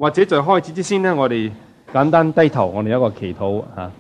或者在開始之先呢，我哋簡單低頭，我哋有一個祈禱吓。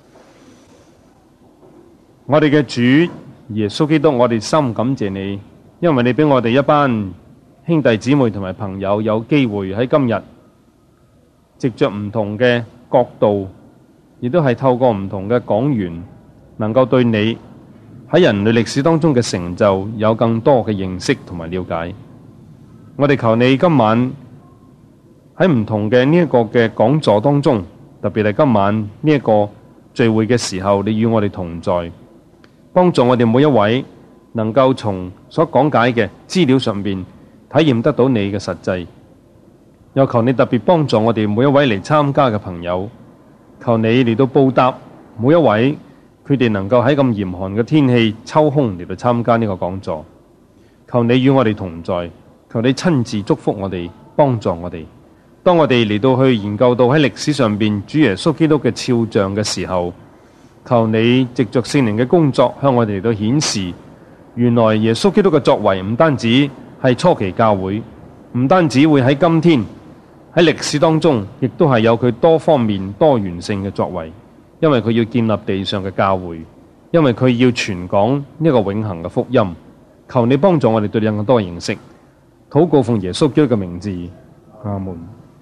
我哋嘅主耶穌基督，我哋深感謝你，因為你俾我哋一班兄弟姊妹同埋朋友有機會喺今日，藉着唔同嘅角度，亦都係透過唔同嘅講員，能夠對你喺人類歷史當中嘅成就有更多嘅認識同埋了解。我哋求你今晚喺唔同嘅呢一個嘅講座當中，特別係今晚呢一個聚會嘅時候，你與我哋同在，幫助我哋每一位能夠從所講解嘅資料上面體驗得到你嘅實際。又求你特別幫助我哋每一位嚟參加嘅朋友，求你嚟到報答每一位佢哋能夠喺咁嚴寒嘅天氣抽空嚟到參加呢個講座。求你與我哋同在，求你親自祝福我哋，幫助我哋。當我哋嚟到去研究到喺歷史上邊主耶穌基督嘅肖像嘅時候，求你藉着聖靈嘅工作向我哋嚟到顯示，原來耶穌基督嘅作為唔單止係初期教會，唔單止會喺今天喺歷史當中，亦都係有佢多方面多元性嘅作為，因為佢要建立地上嘅教會，因為佢要傳講呢個永恆嘅福音。求你幫助我哋對你更多認識，禱告奉耶穌基督嘅名字，阿門。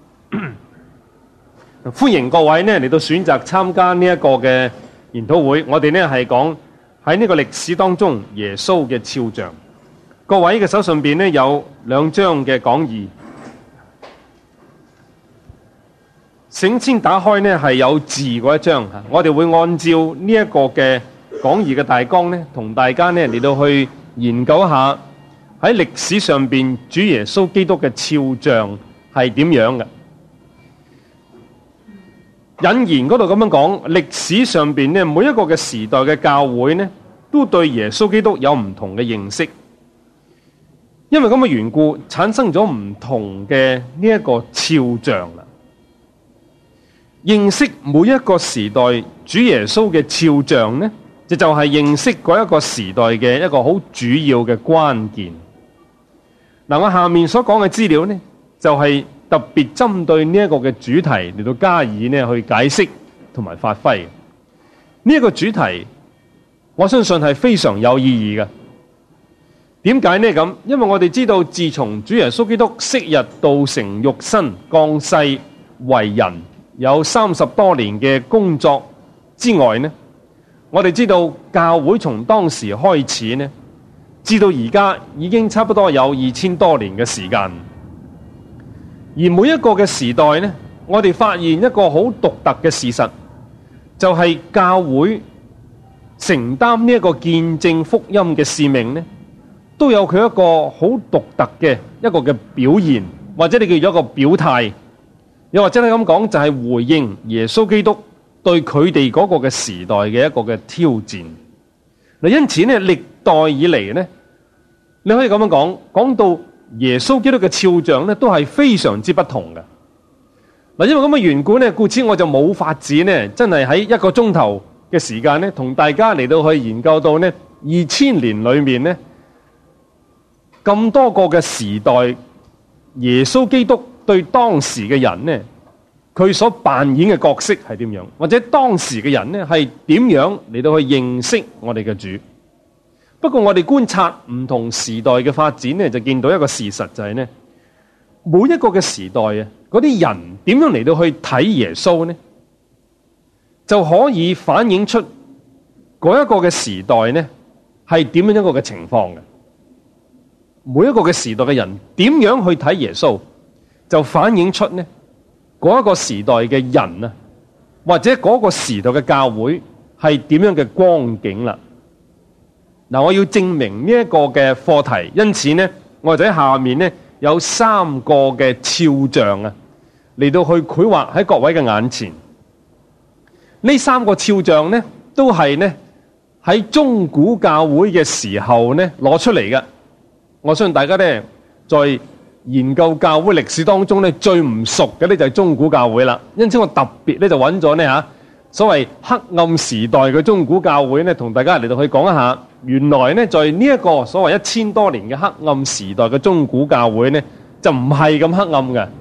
歡迎各位呢嚟到選擇參加呢一個嘅研討會。我哋呢係講喺呢個歷史當中耶穌嘅肖像。各位嘅手上邊呢有兩張嘅講義，先打開呢係有字嗰一張。我哋會按照呢一個嘅講義嘅大綱呢，同大家呢嚟到去研究一下喺歷史上邊主耶穌基督嘅肖像係點樣嘅。引言嗰度咁樣講，歷史上邊呢每一個嘅時代嘅教會呢，都對耶穌基督有唔同嘅認識，因為咁嘅緣故，產生咗唔同嘅呢一個肖像啦。認識每一個時代主耶穌嘅肖像呢，就係認識嗰一個時代嘅一個好主要嘅關鍵。嗱，我下面所講嘅資料呢，就係特別針對呢一個嘅主題嚟到加以呢去解釋同埋發揮。呢一個主題，我相信係非常有意義嘅。點解呢咁？因為我哋知道，自從主耶穌基督昔日道成肉身降世為人，有30多年嘅工作之外呢，我哋知道教會從當時開始呢，至到而家已經差不多有2000多年嘅時間。而每一個嘅時代呢，我哋發現一個好獨特嘅事實，就係教會承擔呢一個見證福音嘅使命呢，都有佢一個好獨特嘅一個嘅表現，或者你叫做一個表態，又或者你咁講，就係回應耶穌基督對佢哋嗰個嘅時代嘅一個嘅挑戰。嗱，因此呢，歷代以嚟呢，你可以咁樣講，講到耶穌基督嘅肖像咧，都係非常之不同嘅。嗱，因為咁嘅緣故咧，故此我就冇法子咧，真係喺一個鐘頭嘅時間咧，同大家嚟到去研究到呢2000年裏面咧，咁多個嘅時代，耶穌基督對當時嘅人咧，佢所扮演嘅角色係點樣，或者當時嘅人咧係點樣嚟到去認識我哋嘅主。不過我哋觀察唔同時代嘅發展呢，就見到一個事實，就係呢，每一個嘅時代啊，嗰啲人點樣嚟到去睇耶穌呢，就可以反映出嗰一個嘅時代呢係點樣一個嘅情況嘅。每一個嘅時代嘅人點樣去睇耶穌，就反映出呢嗰一個時代嘅人啊，或者嗰個時代嘅教會係點樣嘅光景啦。嗱，我要證明呢一個嘅課題，因此呢，我哋喺下面呢有3個嘅肖像啊，嚟到去繪畫喺各位嘅眼前。呢3個肖像呢，都係呢喺中古教會嘅時候呢攞出嚟嘅。我相信大家呢在研究教會歷史當中呢，最唔熟嘅呢就係中古教會啦。因此我特別呢就揾咗呢所謂黑暗時代嘅中古教會呢，同大家嚟到去講一下。原來呢，在呢一個所謂1000多年嘅黑暗時代嘅中古教會呢，就唔係咁黑暗嘅。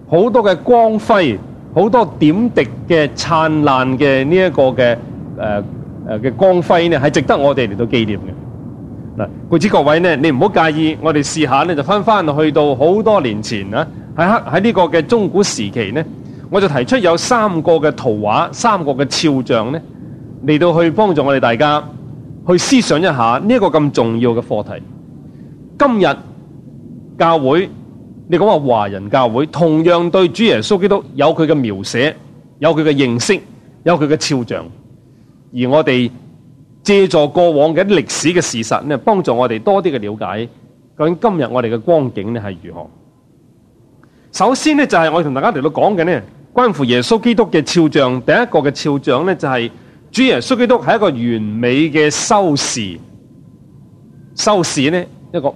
好多嘅光輝，好多點滴嘅燦爛嘅呢一個嘅光輝呢，係值得我哋嚟到紀念嘅。嗱，故此各位呢，你唔好介意，我哋試下呢，就翻去到好多年前啊，喺呢個嘅中古時期呢，我就提出有3個嘅圖畫，3個嘅肖像呢，嚟到去幫助我哋大家去思想一下呢一個咁重要嘅課題。今日教會，你講話華人教會，同樣對主耶穌基督有佢嘅描寫，有佢嘅認識，有佢嘅肖像，而我哋借助過往嘅歷史嘅事實呢，幫助我哋多啲嘅了解，究竟今日我哋嘅光景呢係如何。首先呢，就係我同大家嚟到講嘅呢，關乎耶穌基督嘅肖像。第一個嘅肖像呢，就係主耶穌基督係一個完美嘅修士。修士呢，一個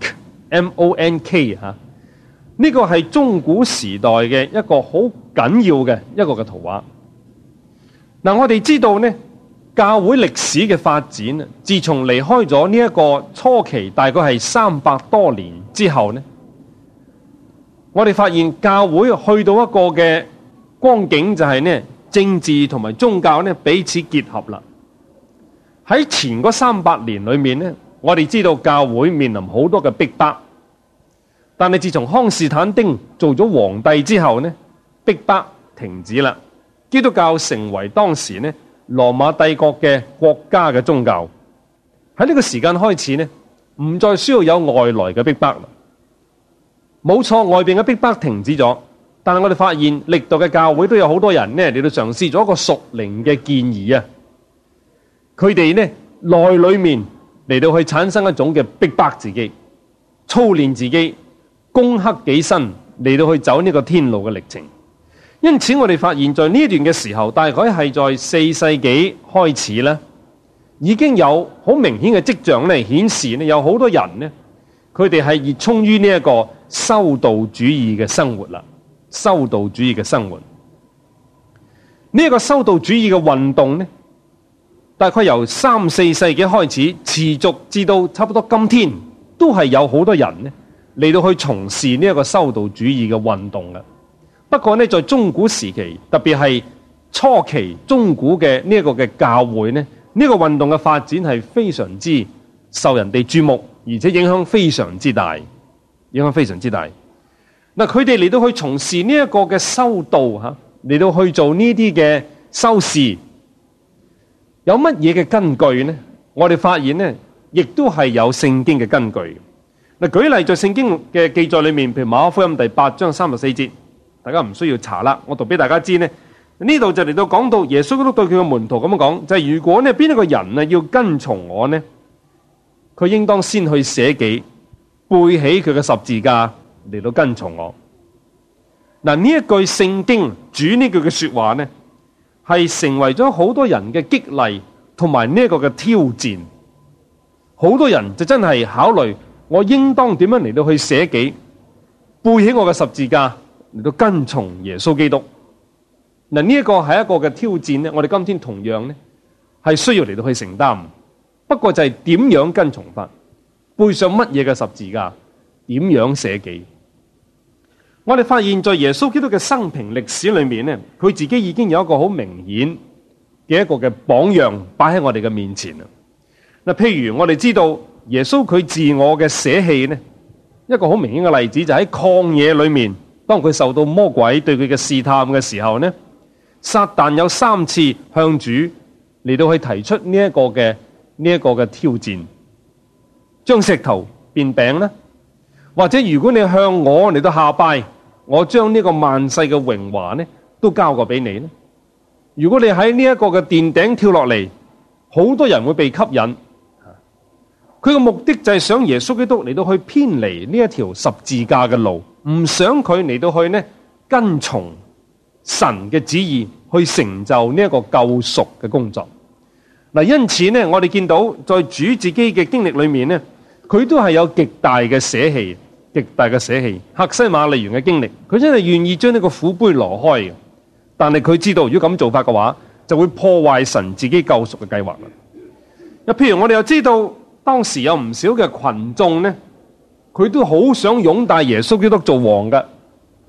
monk，M-O-N-K 吓，呢個係中古時代嘅一個好緊要嘅一個嘅圖畫。嗱，我哋知道呢，教會歷史嘅發展，自從離開咗呢一個初期，大概係300多年之後呢，我哋發現教會去到一個嘅光景，就係呢，政治同埋宗教呢彼此結合啦。喺前嗰300年裏面呢，我哋知道教會面臨好多嘅逼迫，但係自從康士坦丁做咗皇帝之後呢，逼迫停止啦。基督教成為當時呢羅馬帝國嘅國家嘅宗教。喺呢個時間開始呢，唔再需要有外來嘅逼迫啦。冇錯，外邊嘅逼迫停止咗，但係我哋發現歷代嘅教會都有好多人呢嚟到嘗試咗一個屬靈嘅建議啊。佢哋呢內裏面嚟到去產生一種嘅逼迫自己，操練自己，攻克己身，嚟到去走呢個天路嘅歷程。因此我哋發現在呢段嘅時候，大概係在4世紀開始咧，已經有好明顯嘅跡象咧，顯示呢有好多人呢，佢哋係熱衷於呢一個修道主義嘅生活啦。修道主義嘅生活，呢一個修道主義嘅運動呢，大概由3、4世紀開始，持續至到差不多今天，都係有好多人呢嚟到去從事呢一個修道主義嘅運動嘅。不過呢，在中古時期，特別係初期中古嘅呢一個嘅教會呢，呢個運動嘅發展係非常之受人哋注目，而且影響非常之大，影響非常之大。嗱，佢哋嚟到去從事呢一個嘅修道吓，嚟到去做呢啲嘅修士，有乜嘢嘅根據呢？我哋發現呢，亦都係有聖經嘅根據。嗱，舉例在聖經嘅記載裏面，譬如馬可福音第8章34節。大家唔需要查啦，我讀俾大家知呢。呢度就嚟到講到耶穌基督對佢嘅門徒咁樣講，就係如果呢邊一個人啊要跟從我呢，佢應當先去捨己，背起佢嘅十字架嚟到跟從我。嗱，呢一句聖經主呢句嘅說話呢，係成為咗好多人嘅激勵同埋呢一個嘅挑戰。好多人就真係考慮我應當點樣嚟到去捨己，背起我嘅十字架嚟到跟從耶穌基督。嗱，呢一個係一個嘅挑戰呢，我哋今天同樣呢係需要嚟到去承擔。不過就係點樣跟從法，背上乜嘢嘅十字架，點樣捨己。我哋發現在耶穌基督嘅生平歷史裏面呢，佢自己已經有一個好明顯嘅一個嘅榜樣擺喺我哋嘅面前啦。嗱，譬如我哋知道耶穌佢自我嘅捨棄呢，一個好明顯嘅例子就喺曠野裏面。當佢受到魔鬼對佢嘅試探嘅時候呢，撒旦有3次向主嚟到去提出呢一個嘅挑戰，將石頭變餅呢，或者如果你向我嚟到下拜，我將呢個萬世嘅榮華呢都交過俾你呢。如果你喺呢一個嘅殿頂跳落嚟，好多人會被吸引。佢嘅目的就係想耶穌基督嚟到去偏離呢一條十字架嘅路，唔想佢嚟到去呢跟從神嘅旨意去成就呢一個救贖嘅工作。嗱，因此呢，我哋見到在主自己嘅經歷裏面呢，佢都係有極大嘅捨棄，極大嘅捨棄。客西馬尼園嘅經歷，佢真係願意將呢個苦杯挪開嘅，但係佢知道如果咁做法嘅話，就會破壞神自己救贖嘅計劃啦。譬如我哋又知道。當時有唔少嘅群眾呢，佢都好想擁戴耶穌基督做王嘅。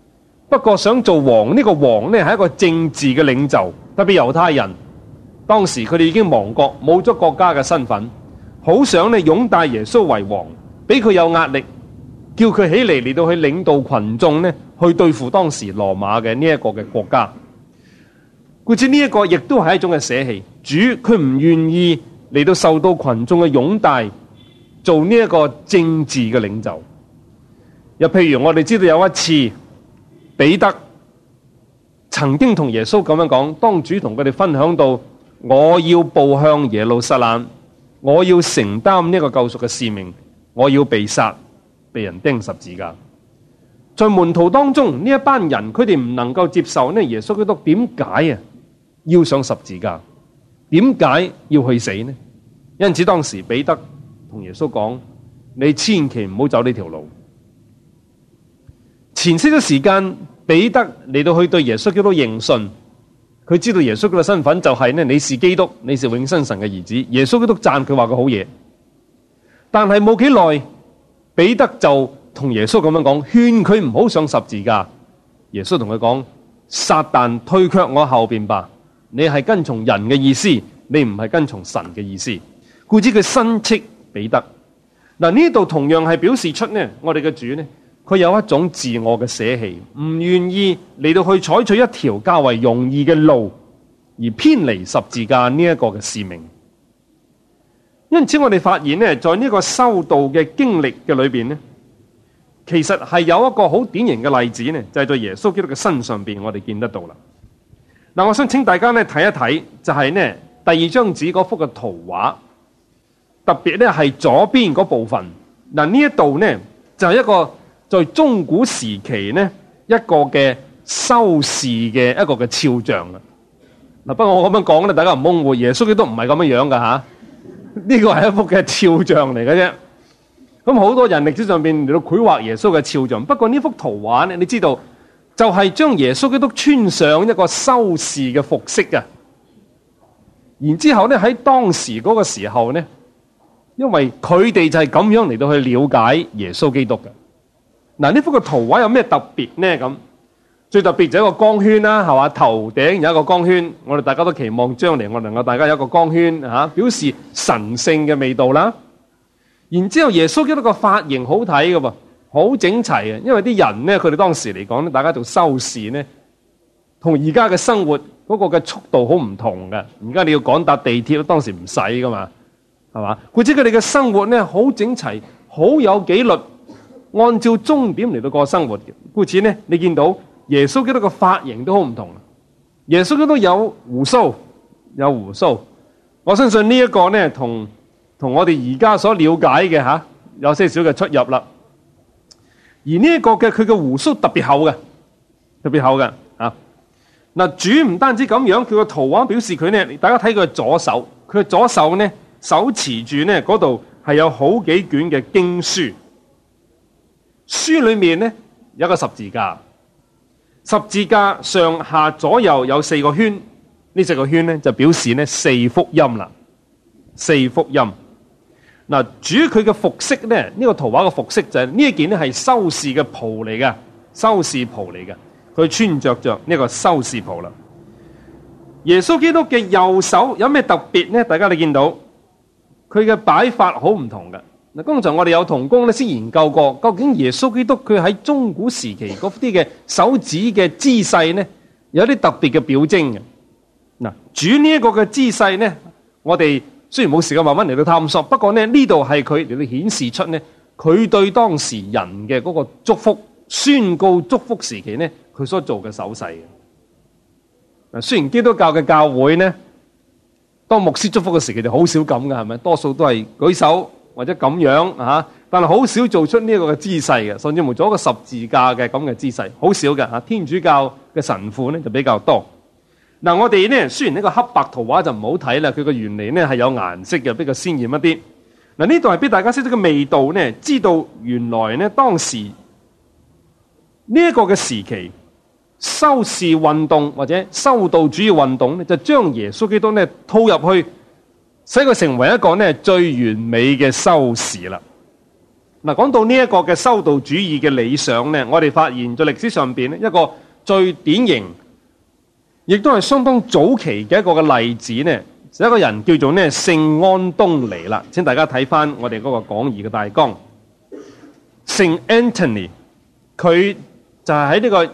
不過想做王，呢個王呢係一個政治嘅領袖，特別猶太人當時佢哋已經亡國，冇咗國家嘅身份，好想呢擁戴耶穌為王，俾佢有壓力，叫佢起嚟到去領導群眾呢去對付當時羅馬嘅呢一個嘅國家。故此呢一個亦都係一種嘅捨棄，主佢唔願意嚟到受到群眾嘅擁戴，做呢一個政治嘅領袖。又譬如我哋知道有一次彼得曾經同耶穌咁樣講，當主同佢哋分享到我要步向耶路撒冷，我要承擔呢個救贖嘅使命，我要被殺，被人釘十字架。在門徒當中呢一班人，佢哋唔能夠接受呢耶穌基督點解要上十字架，點解要去死呢？因此當時彼得同耶穌講，你千祈唔好走呢條路。前些時間彼得嚟到去對耶穌基督認信，佢知道耶穌基督嘅身份就係呢，你是基督，你是永生神嘅兒子。耶穌基督讚佢話佢好嘢，但係冇幾耐彼得就同耶穌咁樣講，勸佢唔好上十字架。耶穌同佢講，撒旦退卻我後邊吧，你係跟從人嘅意思，你唔係跟從神嘅意思。故此佢申斥彼得。嗱，呢度同樣係表示出呢，我哋嘅主呢，佢有一種自我嘅捨棄，唔願意嚟到去採取一條較為容易嘅路，而偏離十字架呢一個嘅使命。因此我哋發現呢，在呢個修道嘅經歷嘅裏邊呢，其實係有一個好典型嘅例子呢，就係在耶穌基督嘅身上邊，我哋見得到啦。嗱，我想請大家呢睇一睇，就係呢第二張紙嗰幅嘅圖畫，特別呢係左邊嗰部分。嗱，呢一度呢就係一個在中古時期呢一個嘅修士嘅一個嘅肖像啊。嗱，不過我咁樣講咧，大家唔好誤會，耶穌基督唔係咁樣樣噶吓，呢個係一幅嘅肖像嚟嘅啫。咁好多人歷史上邊嚟到繪畫耶穌嘅肖像，不過呢幅圖畫咧，你知道就係將耶穌基督穿上一個修士嘅服飾啊。然之後咧喺當時嗰個時候咧，因為佢哋就係咁樣嚟到去了解耶穌基督嘅。嗱，呢幅嘅圖畫有咩特別呢？咁最特別就係一個光圈啦，係嘛？頭頂有一個光圈，我哋大家都期望將來我能夠大家有一個光圈吓，表示神聖嘅味道啦。然之後耶穌基督個髮型好睇㗎噃，好整齊嘅，因為啲人咧，佢哋當時嚟講咧，大家做修士咧，同而家嘅生活嗰個嘅速度好唔同嘅。而家你要趕搭地鐵，當時唔使噶嘛，係嘛？或者佢哋嘅生活咧好整齊，好有紀律，按照終點嚟到過生活嘅。故此咧，你見到耶穌基督個髮型都好唔同。耶穌基督有鬍鬚，有鬍鬚。我相信呢一個咧，同我哋而家所了解嘅吓，有些少嘅出入啦。而呢一個嘅佢嘅鬍鬚特別厚嘅，特別厚嘅啊。嗱，主唔單止咁樣，佢個圖畫表示佢咧，大家睇佢嘅左手，佢嘅左手咧手持住咧嗰度係有好幾卷嘅經書，書裏面咧有一個十字架，十字架上下左右有4個圈，呢4個圈咧就表示咧4福音啦，4福音。嗱，主佢嘅服飾咧，呢個圖畫嘅服飾就係呢一件咧係修士嘅袍嚟嘅，修士袍嚟嘅，佢穿着呢個修士袍啦。耶穌基督嘅右手有咩特別咧？大家你見到佢嘅擺法好唔同嘅。嗱，剛才我哋有同工咧先研究過，究竟耶穌基督佢喺中古時期嗰啲嘅手指嘅姿勢咧，有啲特別嘅表徵嘅。嗱，主呢一個嘅姿勢咧，我哋雖然冇時間慢慢嚟到探索，不過咧呢度係佢嚟到顯示出咧，佢對當時人嘅嗰個祝福、宣告祝福時期咧，佢所做嘅手勢嘅。嗱，雖然基督教嘅教會咧，當牧師祝福嘅時期就好少咁嘅，係咪？多數都係舉手或者咁樣吓，但係好少做出呢一個嘅姿勢嘅，甚至乎做一個十字架嘅咁嘅姿勢，好少嘅吓。天主教嘅神父咧就比較多。嗱，我哋咧雖然呢個黑白圖畫就唔好睇啦，佢個原理咧係有顏色嘅，比較鮮豔一啲。嗱，呢度係俾大家識得個味道咧，知道原來咧當時呢一個嘅時期，修士運動或者修道主義運動咧，就將耶穌基督咧套入去，使佢成為一個咧最完美嘅修士啦。 嗱，講到呢一個嘅修道主義嘅理想呢，我哋發現在歷史上邊一個最典型，亦都係相當早期嘅一個嘅例子呢，就一個人叫做聖安東尼啦。請大家睇翻我哋嗰個講義嘅大綱。聖 Anthony 佢就係喺呢個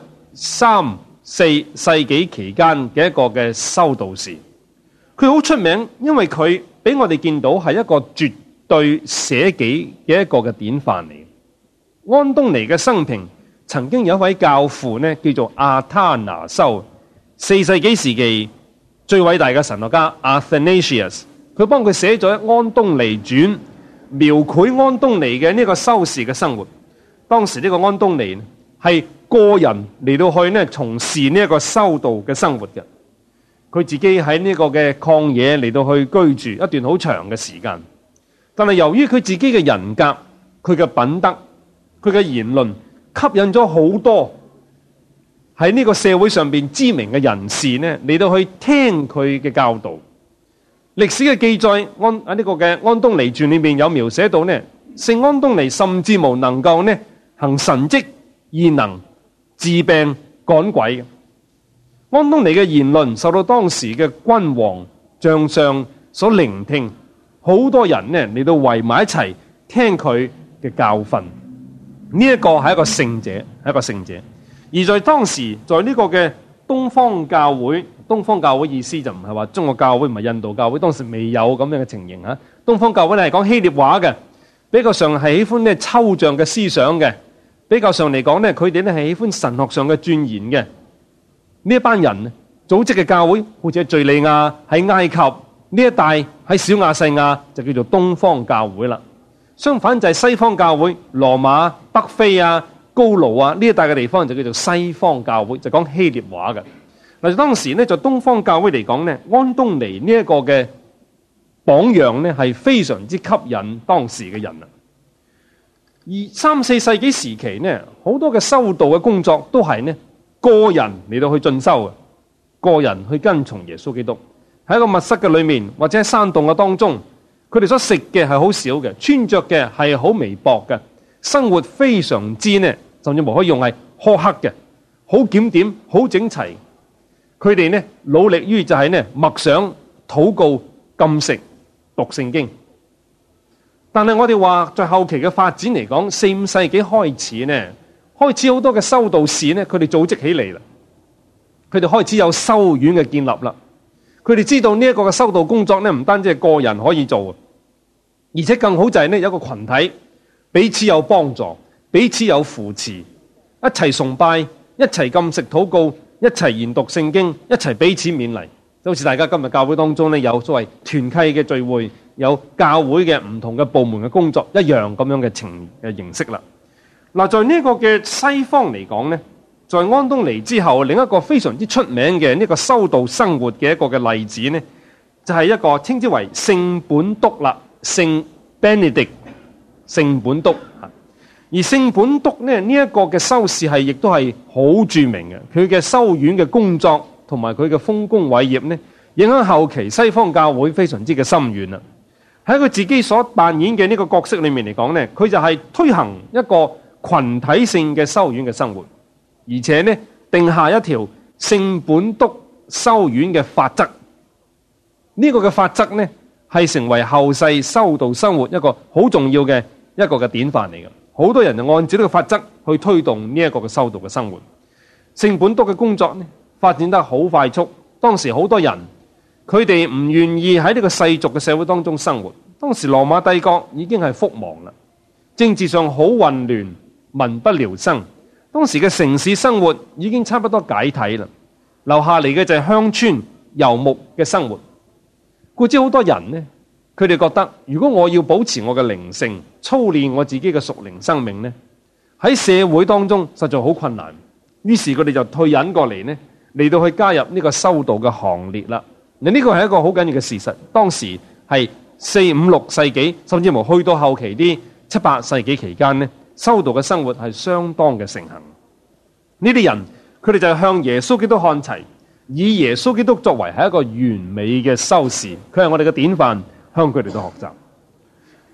3、4世紀期間嘅一個嘅修道士。佢好出名，因為佢俾我哋見到係一個絕對捨己嘅一個嘅典範嚟。安東尼嘅生平，曾經有一位教父呢，叫做阿他拿修，4世紀時期最偉大嘅神學家 Athanasius， 佢幫佢寫咗《安東尼傳》，描繪安東尼嘅呢個修士嘅生活。當時呢個安東尼係個人嚟到去呢從事呢一個修道嘅生活嘅。佢自己喺呢個嘅曠野嚟到去居住一段好長嘅時間，但係由於佢自己嘅人格、佢嘅品德、佢嘅言論，吸引咗好多喺呢個社會上邊知名嘅人士呢嚟到去聽佢嘅教導。歷史嘅記載喺呢個嘅安東尼傳裏面有描寫到呢，聖安東尼甚至無能夠呢行神蹟異能、治病趕鬼嘅。安東尼嘅言論受到當時嘅君王將相所聆聽，好多人呢嚟到圍埋一齊聽佢嘅教訓。呢一個係一個聖者，係一個聖者。而在當時，在呢個嘅東方教會，東方教會意思就唔係話中國教會，唔係印度教會，當時未有咁樣嘅情形吓。東方教會係講希臘話嘅，比較上係喜歡呢抽象嘅思想嘅，比較上嚟講呢，佢哋呢係喜歡神學上嘅鑽研嘅。呢一班人組織嘅教會，好似喺敘利亞、喺埃及呢一帶，喺小亞細亞就叫做東方教會啦。相反就係西方教會，羅馬、北非啊、高盧啊呢一帶嘅地方就叫做西方教會，就講希臘話嘅。嗱，當時呢，在東方教會嚟講呢，安東尼呢一個嘅榜樣呢係非常之吸引當時嘅人啊。而3、4世紀時期呢，好多嘅修道嘅工作都係呢個人嚟到去進修嘅，個人去跟從耶穌基督，喺一個密室嘅裏面，或者喺山洞嘅當中，佢哋所食嘅係好少嘅，穿着嘅係好微薄嘅，生活非常之呢，甚至乎可以用係苛刻嘅，好檢點、好整齊。佢哋呢努力於就係呢默想、禱告、禁食、讀聖經。但係我哋話在後期嘅發展嚟講，4、5世紀開始呢，開始好多嘅修道士呢，佢哋組織起嚟啦，佢哋開始有修院嘅建立啦。佢哋知道呢一個嘅修道工作呢，唔單止係個人可以做，而且更好就係呢有一個群體彼此有幫助，彼此有扶持，一齊崇拜，一齊禁食禱告，一齊研讀聖經，一齊彼此勉勵。就好似大家今日教會當中呢，有所謂團契嘅聚會，有教會嘅唔同嘅部門嘅工作一樣咁樣嘅形式啦。嗱，在呢個嘅西方嚟講呢，在安東尼之後，另一個非常之出名嘅呢個修道生活嘅一個嘅例子呢，就係一個稱之為聖本篤啦，聖 Benedict， 聖本篤。而聖本篤呢一個嘅修士係亦都係好著名嘅，佢嘅修院嘅工作同埋佢嘅豐功偉業呢，影響後期西方教會非常之嘅深遠啦。喺佢自己所扮演嘅呢個角色裏面嚟講呢，佢就係推行一個群體性嘅修院嘅生活，而且呢定下一條聖本篤修院嘅法則。呢個嘅法則呢係成為後世修道生活一個好重要嘅一個嘅典範嚟嘅。好多人就按照呢個法則去推動呢一個嘅修道嘅生活。聖本篤嘅工作呢發展得好快速，當時好多人佢哋唔願意喺呢個世俗嘅社會當中生活。當時羅馬帝國已經係覆亡啦，政治上好混亂，民不聊生。當時嘅城市生活已經差不多解體啦，留下嚟嘅就係鄉村游牧嘅生活。故知好多人呢，佢哋覺得如果我要保持我嘅靈性，操練我自己嘅屬靈生命呢，喺社會當中實在好困難。於是佢哋就退隱過嚟呢，嚟到去加入呢個修道嘅行列啦。嗱，呢個係一個好緊要嘅事實。當時係4、5、6世紀，甚至乎去到後期啲7、8世紀期間呢，修道嘅生活係相當嘅盛行。呢啲人佢哋就向耶穌基督看齊，以耶穌基督作為係一個完美嘅修士，佢係我哋嘅典範，向佢哋都學習。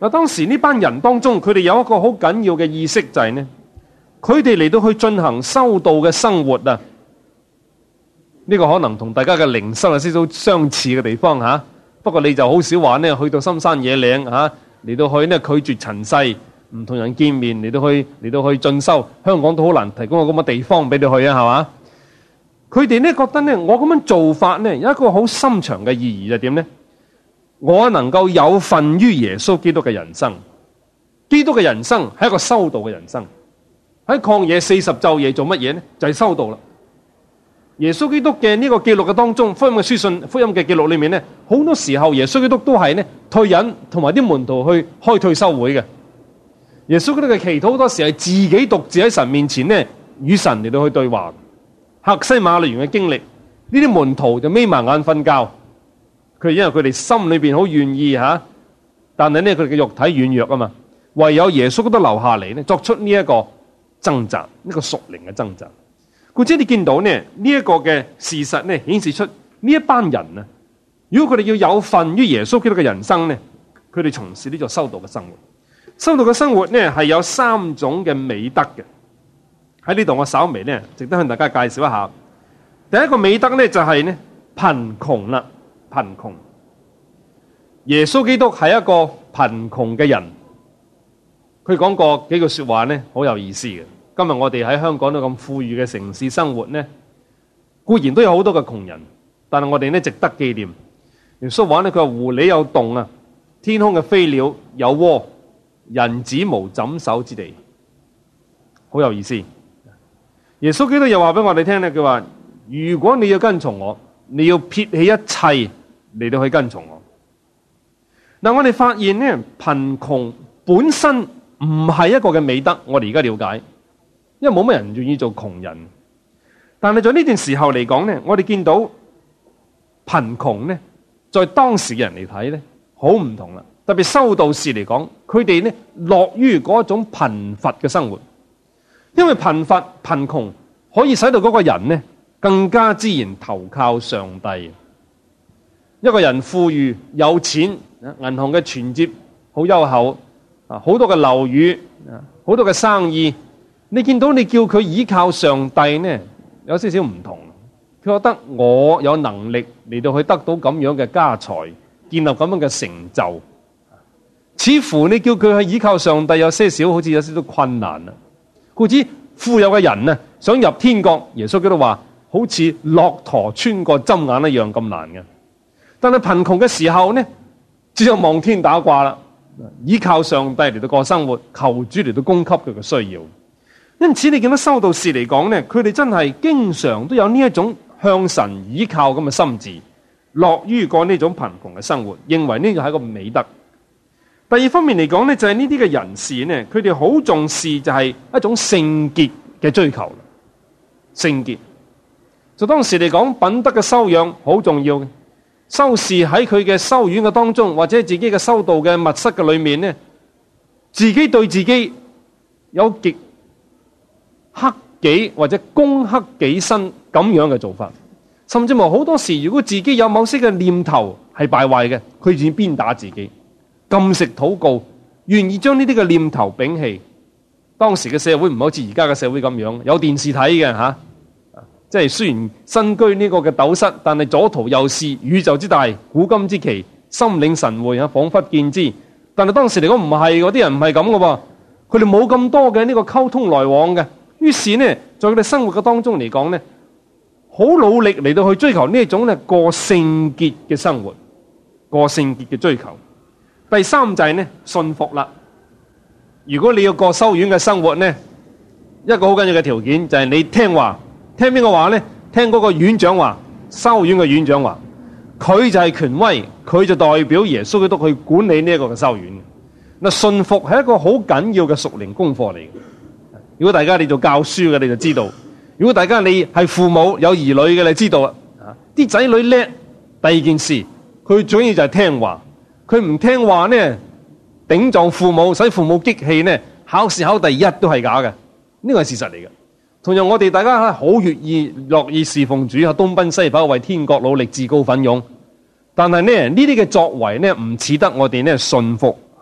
嗱，當時呢班人當中，佢哋有一個好緊要嘅意識就係呢，佢哋嚟到去進行修道嘅生活啊。呢個可能同大家嘅靈修有少少相似嘅地方吓，不過你就好少話呢，去到深山野嶺吓，嚟到去呢拒絕塵世，唔同人見面，嚟到去進修。香港都好難提供個咁嘅地方俾你去啊，係嘛？佢哋呢覺得呢，我咁樣做法呢，有一個好深長嘅意義，就係點呢？我能夠有份於耶穌基督嘅人生。基督嘅人生係一個修道嘅人生。喺曠野40晝夜做乜嘢呢？就係修道啦。耶穌基督嘅呢個記錄嘅當中，福音嘅書信、福音嘅記錄裏面呢，好多時候耶穌基督都係呢退隱，同埋啲門徒去開退修會嘅。耶穌基督嘅祈禱好多時係自己獨自喺神面前呢，與神嚟到去對話。客西馬尼園嘅經歷，呢啲門徒就眯埋眼瞓覺。佢因為佢哋心裏邊好願意吓，但係呢佢哋嘅肉體軟弱啊嘛，唯有耶穌基督留下嚟呢，作出呢一個掙扎，呢個屬靈嘅掙扎。故此你見到呢一個嘅事實呢，顯示出呢一班人啊，如果佢哋要有份於耶穌基督嘅人生呢，佢哋從事呢個修道嘅生活。修道嘅生活呢係有3種嘅美德嘅。喺呢度我稍微呢值得向大家介紹一下。第一個美德呢就係呢貧窮啦，貧窮。耶穌基督係一個貧窮嘅人，佢講過幾句說話呢，好有意思嘅。今日我哋喺香港都咁富裕嘅城市生活呢，固然都有好多嘅窮人，但係我哋呢值得紀念。耶穌話呢，佢話狐狸有洞啊，天空嘅飛鳥有窩，人子無枕首之地，好有意思。耶穌基督又話俾我哋聽呢，佢話如果你要跟從我，你要撇棄一切嚟到去跟從我。嗱，我哋發現呢，貧窮本身唔係一個嘅美德，我哋而家了解。因為冇乜人願意做窮人，但係在呢段時候嚟講呢，我哋見到貧窮呢，在當時嘅人嚟睇呢，好唔同啦。特別修道士嚟講，佢哋呢樂於嗰種貧乏嘅生活，因為貧窮可以使到嗰個人呢更加自然投靠上帝。一個人富裕有錢，銀行嘅存摺好優厚啊，好多嘅樓宇啊，好多嘅生意。你見到你叫佢依靠上帝呢，有少少唔同。佢覺得我有能力嚟到去得到咁樣嘅家財，建立咁樣嘅成就，似乎你叫佢去依靠上帝有些少，好似有少少困難啦。故此富有嘅人呢，想入天國，耶穌基督話好似駱駝穿過針眼一樣咁難嘅。但係貧窮嘅時候呢，只有望天打卦啦，依靠上帝嚟到過生活，求主嚟到供給佢嘅需要。因此你見到修道士嚟講呢，佢哋真係經常都有呢一種向神依靠咁嘅心志，樂於過呢種貧窮嘅生活，認為呢個係一個美德。第二方面嚟講呢，就係呢啲嘅人士呢，佢哋好重視就係一種聖潔嘅追求。聖潔就當時嚟講，品德嘅修養好重要嘅。修士喺佢嘅修院嘅當中，或者自己嘅修道嘅密室嘅裏面呢，自己對自己有極克己或者攻克己身咁樣嘅做法，甚至乎好多時，如果自己有某些嘅念頭係敗壞嘅，佢願意鞭打自己，禁食禱告，願意將呢啲嘅念頭摒棄。當時嘅社會唔好似而家嘅社會咁樣，有電視睇嘅吓，即係雖然身居呢個嘅斗室，但係左圖右視，宇宙之大，古今之奇，心領神會啊，仿佛見之。但係當時嚟講唔係，嗰啲人唔係咁嘅喎，佢哋冇咁多嘅呢個溝通來往嘅。於是呢，在佢哋生活嘅當中嚟講呢，好努力嚟到去追求呢一種呢過聖潔嘅生活，過聖潔嘅追求。第三就係呢信服啦。如果你要過修院嘅生活呢，一個好緊要嘅條件就係你聽話，聽邊個話呢？聽嗰個院長話，修院嘅院長話，佢就係權威，佢就代表耶穌基督去管理呢一個嘅修院。嗱，信服係一個好緊要嘅屬靈功課嚟嘅。如果大家你做教書嘅，你就知道；如果大家你係父母有兒女嘅，你知道啦。啲仔女叻，第二件事佢最重要就係聽話。佢唔聽話呢，頂撞父母，使父母激氣呢，考試考第一都係假嘅。呢個係事實嚟嘅。同樣我哋大家好樂意侍奉主，東奔西跑為天國努力，自告奮勇。但係呢啲嘅作為呢，唔似得我哋呢信服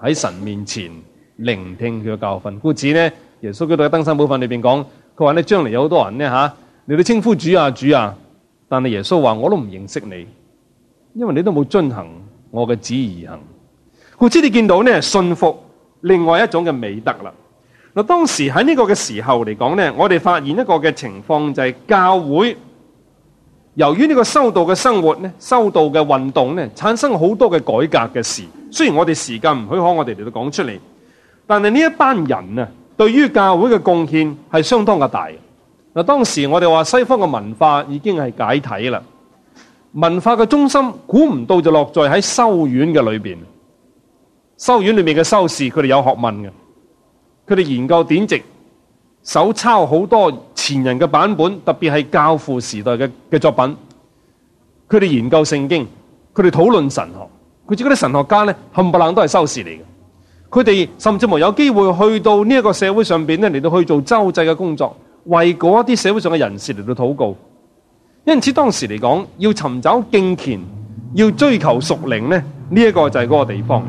喺神面前聆聽佢嘅教訓。故此呢，耶穌基督喺登山寶訓裏邊講，佢話咧將來有好多人呢你都稱呼主啊主啊，但係耶穌話我都唔認識你，因為你都冇遵行我嘅旨意而行。故此你見到呢，信服另外一種嘅美德啦。嗱，當時喺呢個嘅時候嚟講呢，我哋發現一個嘅情況就係教會由於呢個修道嘅生活呢，修道嘅運動呢，產生好多嘅改革嘅事。雖然我哋時間唔許可我哋嚟到講出嚟，但係呢一班人啊，對於教會嘅貢獻係相當嘅大。嗱，當時我哋話西方嘅文化已經係解體啦，文化嘅中心估唔到就落在喺修院嘅裏邊。修院裏面嘅修士，佢哋有學問嘅，佢哋研究典籍，手抄好多前人嘅版本，特別係教父時代嘅作品。佢哋研究聖經，佢哋討論神學。佢知嗰啲神學家咧，冚唪唥都係修士嚟嘅。佢哋甚至乎有機會去到呢一個社會上邊咧，嚟到去做周濟嘅工作，為嗰一啲社會上嘅人士嚟到禱告。因此當時嚟講，要尋找敬虔，要追求屬靈咧，呢一個就係嗰個地方。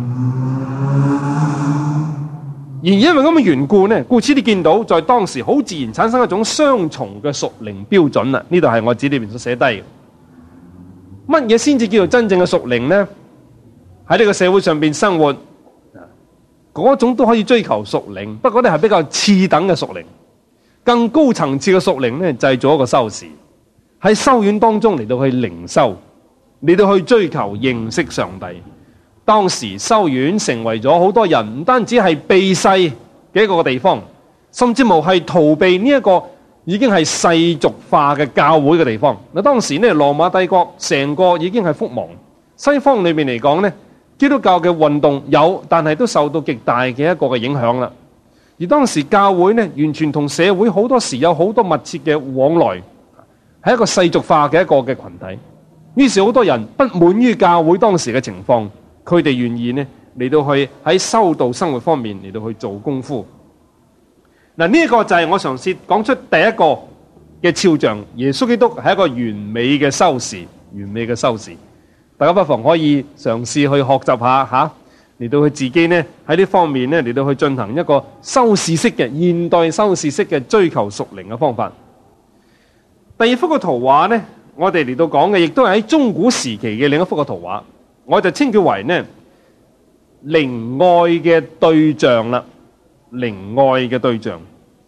而因為咁嘅緣故呢，故此你見到在當時好自然產生一種雙重嘅屬靈標準啦。呢度係我紙裏面所寫低嘅。乜嘢先至叫做真正嘅屬靈呢？喺呢個社會上邊生活，嗰種都可以追求屬靈，不過呢係比較次等嘅屬靈。更高層次嘅屬靈呢，就係做一個修士，喺修院當中嚟到去靈修，嚟到去追求認識上帝。當時修院成為咗好多人唔單止係避世嘅一個地方，甚至乎係逃避呢一個已經係世俗化嘅教會嘅地方。嗱，當時呢，羅馬帝國成個已經係覆亡，西方裏面嚟講呢，基督教嘅運動有，但係都受到極大嘅一個嘅影響啦。而當時教會呢，完全同社會好多時有好多密切嘅往來，係一個世俗化嘅一個嘅群體。於是好多人不滿於教會當時嘅情況，佢哋願意呢嚟到去喺修道生活方面嚟到去做功夫。嗱，呢一個就係我嘗試講出第一個嘅肖像，耶穌基督係一個完美嘅修士，完美嘅修士。大家不妨可以嘗試去學習下吓，嚟到佢自己呢喺呢方面呢嚟到去進行一個修士式嘅現代修士式嘅追求屬靈嘅方法。第二幅嘅圖畫呢，我哋嚟到講嘅亦都係喺中古時期嘅另一幅嘅圖畫，我就稱佢為呢靈愛嘅對象啦，靈愛嘅對象。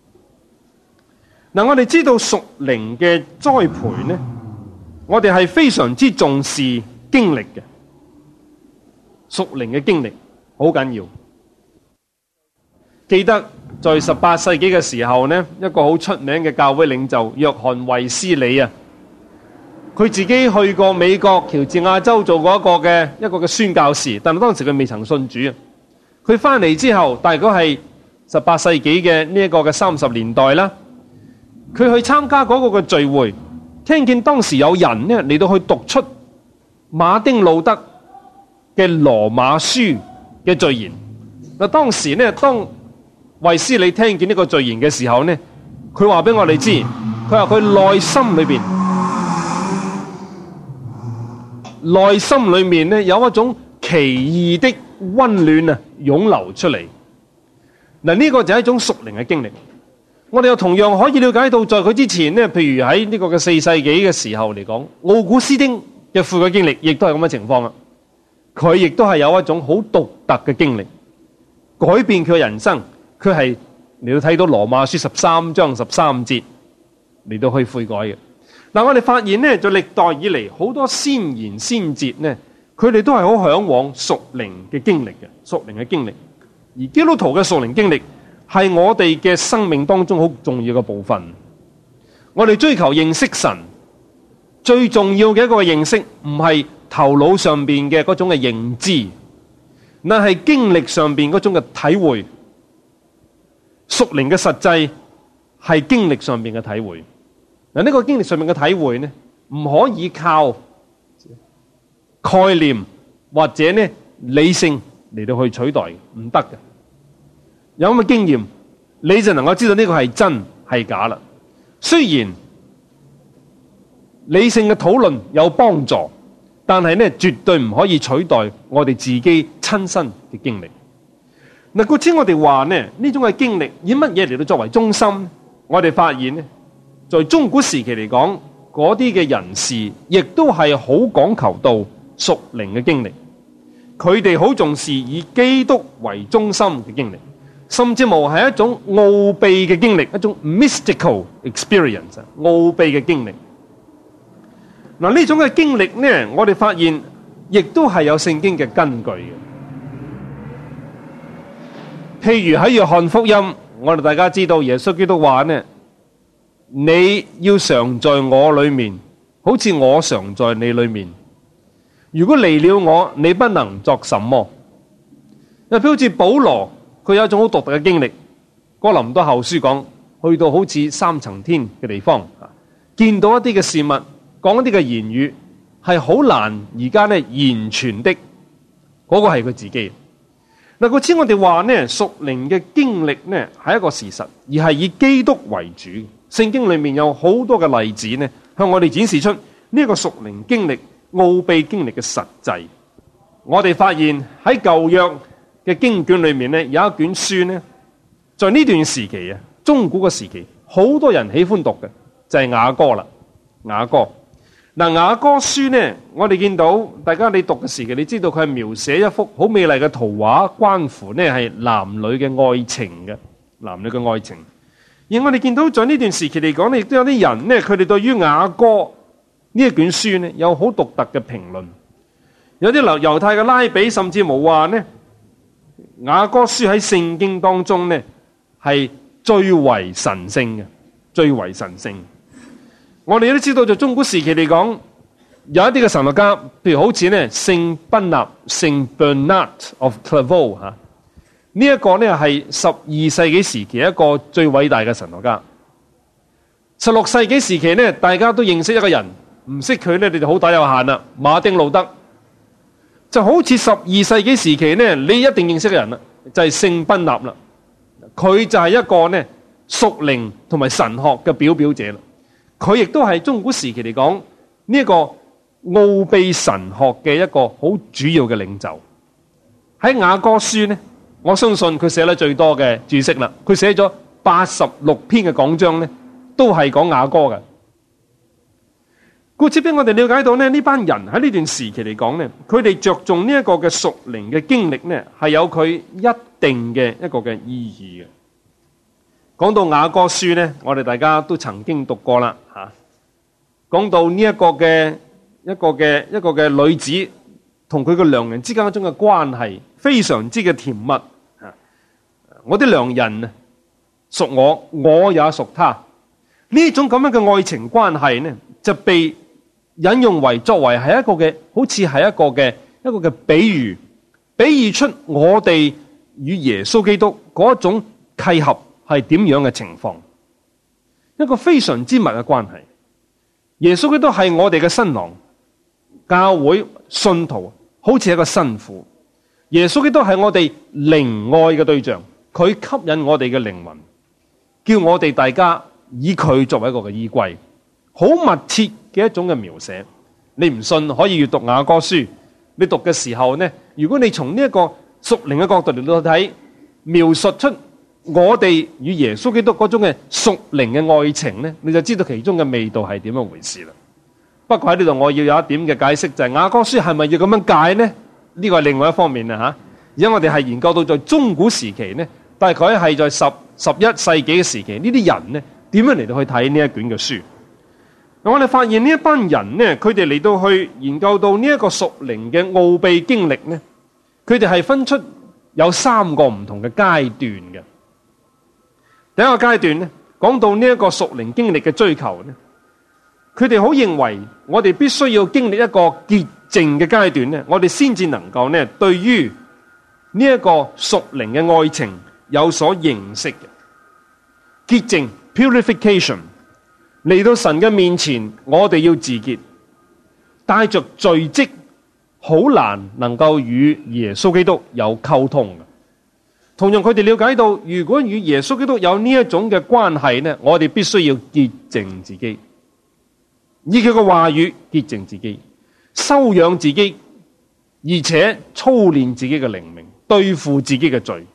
嗱，我哋知道屬靈嘅栽培呢，我哋係非常之重視經歷嘅，屬靈嘅經歷好緊要。記得在18世紀嘅時候呢，一個好出名嘅教會領袖約翰衛斯理啊，佢自己去過美國喬治亞州做過一個嘅宣教士，但係當時佢未曾信主啊。佢翻嚟之後，大概係18世紀嘅呢一個嘅30年代啦，佢去參加嗰個嘅聚會，聽見當時有人呢嚟到去讀出馬丁路德嘅羅馬書嘅序言。嗱，當時呢，當衛斯理聽見呢個序言嘅時候呢，佢話俾我哋知，佢話佢內心裏面呢有一種奇異的溫暖啊湧流出嚟。嗱，呢個就係一種屬靈嘅經歷。我哋又同樣可以了解到，在佢之前呢，譬如喺呢個嘅4世紀嘅時候嚟講，奧古斯丁嘅悔改經歷亦都係咁嘅情況啦。佢亦都係有一種好獨特嘅經歷，改變佢嘅人生。佢係嚟到睇到羅馬書13章13節嚟到去悔改嘅。嗱，我哋發現呢，在歷代以嚟好多先賢先哲呢，佢哋都係好向往屬靈嘅經歷嘅，屬靈嘅經歷。而基督徒嘅屬靈經歷係我哋嘅生命當中好重要嘅部分。我哋追求認識神，最重要嘅一個認識唔係頭腦上邊嘅嗰種嘅認知，那係經歷上邊嗰種嘅體會。屬靈嘅實際係經歷上邊嘅體會。嗱，呢個經歷上面嘅體會呢，唔可以靠概念或者呢理性嚟到去取代，唔得嘅。有咁嘅經驗，你就能夠知道呢個係真係假啦。雖然理性嘅討論有幫助，但係呢絕對唔可以取代我哋自己親身嘅經歷。 嗱，故此我哋話呢種嘅經歷以乜嘢嚟到作為中心？我哋發現呢，在中古時期嚟講，嗰啲嘅人士亦都係好講求到屬靈嘅經歷，佢哋好重視以基督為中心嘅經歷，甚至乎係一種奧秘嘅經歷，一種 mystical experience， 奧秘嘅經歷。嗱，呢種嘅經歷呢，我哋發現亦都係有聖經嘅根據嘅。譬如喺約翰福音，我哋大家知道耶穌基督話呢，你要常在我裏面，好似我常在你裏面。如果離了我，你不能作什麼。又譬如好似保羅，佢有一種好獨特嘅經歷。哥林多後書講，去到好似三層天嘅地方，見到一啲嘅事物，講一啲嘅言語，係好難而家呢言傳的。嗰個係佢自己。嗱，故此我哋話呢，屬靈嘅經歷呢係一個事實，而係以基督為主。聖經裏面有好多嘅例子呢，向我哋展示出呢個屬靈經歷、奧秘經歷嘅實際。我哋發現喺舊約嘅經卷裏面呢，有一卷書呢，在呢段時期啊，中古嘅時期，好多人喜歡讀嘅就係雅歌啦。雅歌。嗱，雅歌書呢，我哋見到大家你讀嘅時期，你知道佢係描寫一幅好美麗嘅圖畫，關乎呢係男女嘅愛情嘅，男女嘅愛情。而我哋見到在呢段時期嚟講呢，亦都有啲人呢，佢哋對於雅歌呢一卷書呢，有好獨特嘅評論。有啲猶太嘅拉比甚至冇話呢，雅歌書喺聖經當中呢係最為神聖嘅，最為神聖。我哋都知道，在中古時期嚟講，有一啲嘅神學家，譬如好似呢聖賓納 Saint Bernard of Clairvaux 吓，呢一個呢係12世紀時期一個最偉大嘅神學家。16世紀時期呢，大家都認識一個人，唔識佢呢，你就好打有限啦。馬丁路德就好似12世紀時期呢，你一定認識嘅人啦，就係聖賓納啦。佢就係一個呢屬靈同埋神學嘅表表者啦。佢亦都係中古時期嚟講呢一個奧秘神學嘅一個好主要嘅領袖。喺雅歌書呢，我相信佢寫得最多嘅注釋啦。佢寫咗86篇嘅講章呢，都係講雅歌嘅。故此俾我哋了解到呢班人喺呢段時期嚟講呢，佢哋着重呢一個嘅屬靈嘅經歷呢，係有佢一定嘅一個嘅意義嘅。講到雅歌書呢，我哋大家都曾經讀過啦吓。講到呢一個嘅女子同佢嘅良人之間一種嘅關係，非常之嘅甜蜜吓。我啲良人屬我，我也屬他。呢種咁樣嘅愛情關係呢，就被引用為作為係一個嘅，好似係一個嘅比喻，比喻出我哋與耶穌基督嗰一種契合係點樣嘅情況，一個非常之密嘅關係。耶穌基督係我哋嘅新郎，教會信徒好似一個新婦。耶穌基督係我哋靈愛嘅對象，佢吸引我哋嘅靈魂，叫我哋大家以佢作為一個嘅依歸，好密切嘅一種嘅描寫。你唔信可以閱讀雅歌書，你讀嘅時候呢，如果你從呢一個屬靈嘅角度嚟到睇，描述出我哋與耶穌基督嗰種嘅屬靈嘅愛情呢，你就知道其中嘅味道係點樣回事啦。不過喺呢度我要有一點嘅解釋，就係雅歌書係咪要咁樣解呢？呢個係另外一方面啦吓。而家我哋係研究到在中古時期呢，大概係在11世紀嘅時期，呢啲人呢點樣嚟到去睇呢一卷嘅書？我哋發現呢一班人呢，佢哋嚟到去研究到呢一個屬靈嘅奧秘經歷呢，佢哋係分出有3個唔同嘅階段嘅。第一個階段呢，講到呢一個屬靈經歷嘅追求呢，佢哋好認為我哋必須要經歷一個潔淨嘅階段呢，我哋先至能夠呢對於呢一個屬靈嘅愛情有所認識嘅。潔淨 purification， 嚟到神嘅面前，我哋要自潔，帶着罪跡，好難能夠與耶穌基督有溝通嘅。同樣佢哋了解到，如果與耶穌基督有呢一種嘅關係呢，我哋必須要潔淨自己，以佢嘅話語潔淨自己，修養自己，而且操練自己嘅靈命，對付自己嘅罪，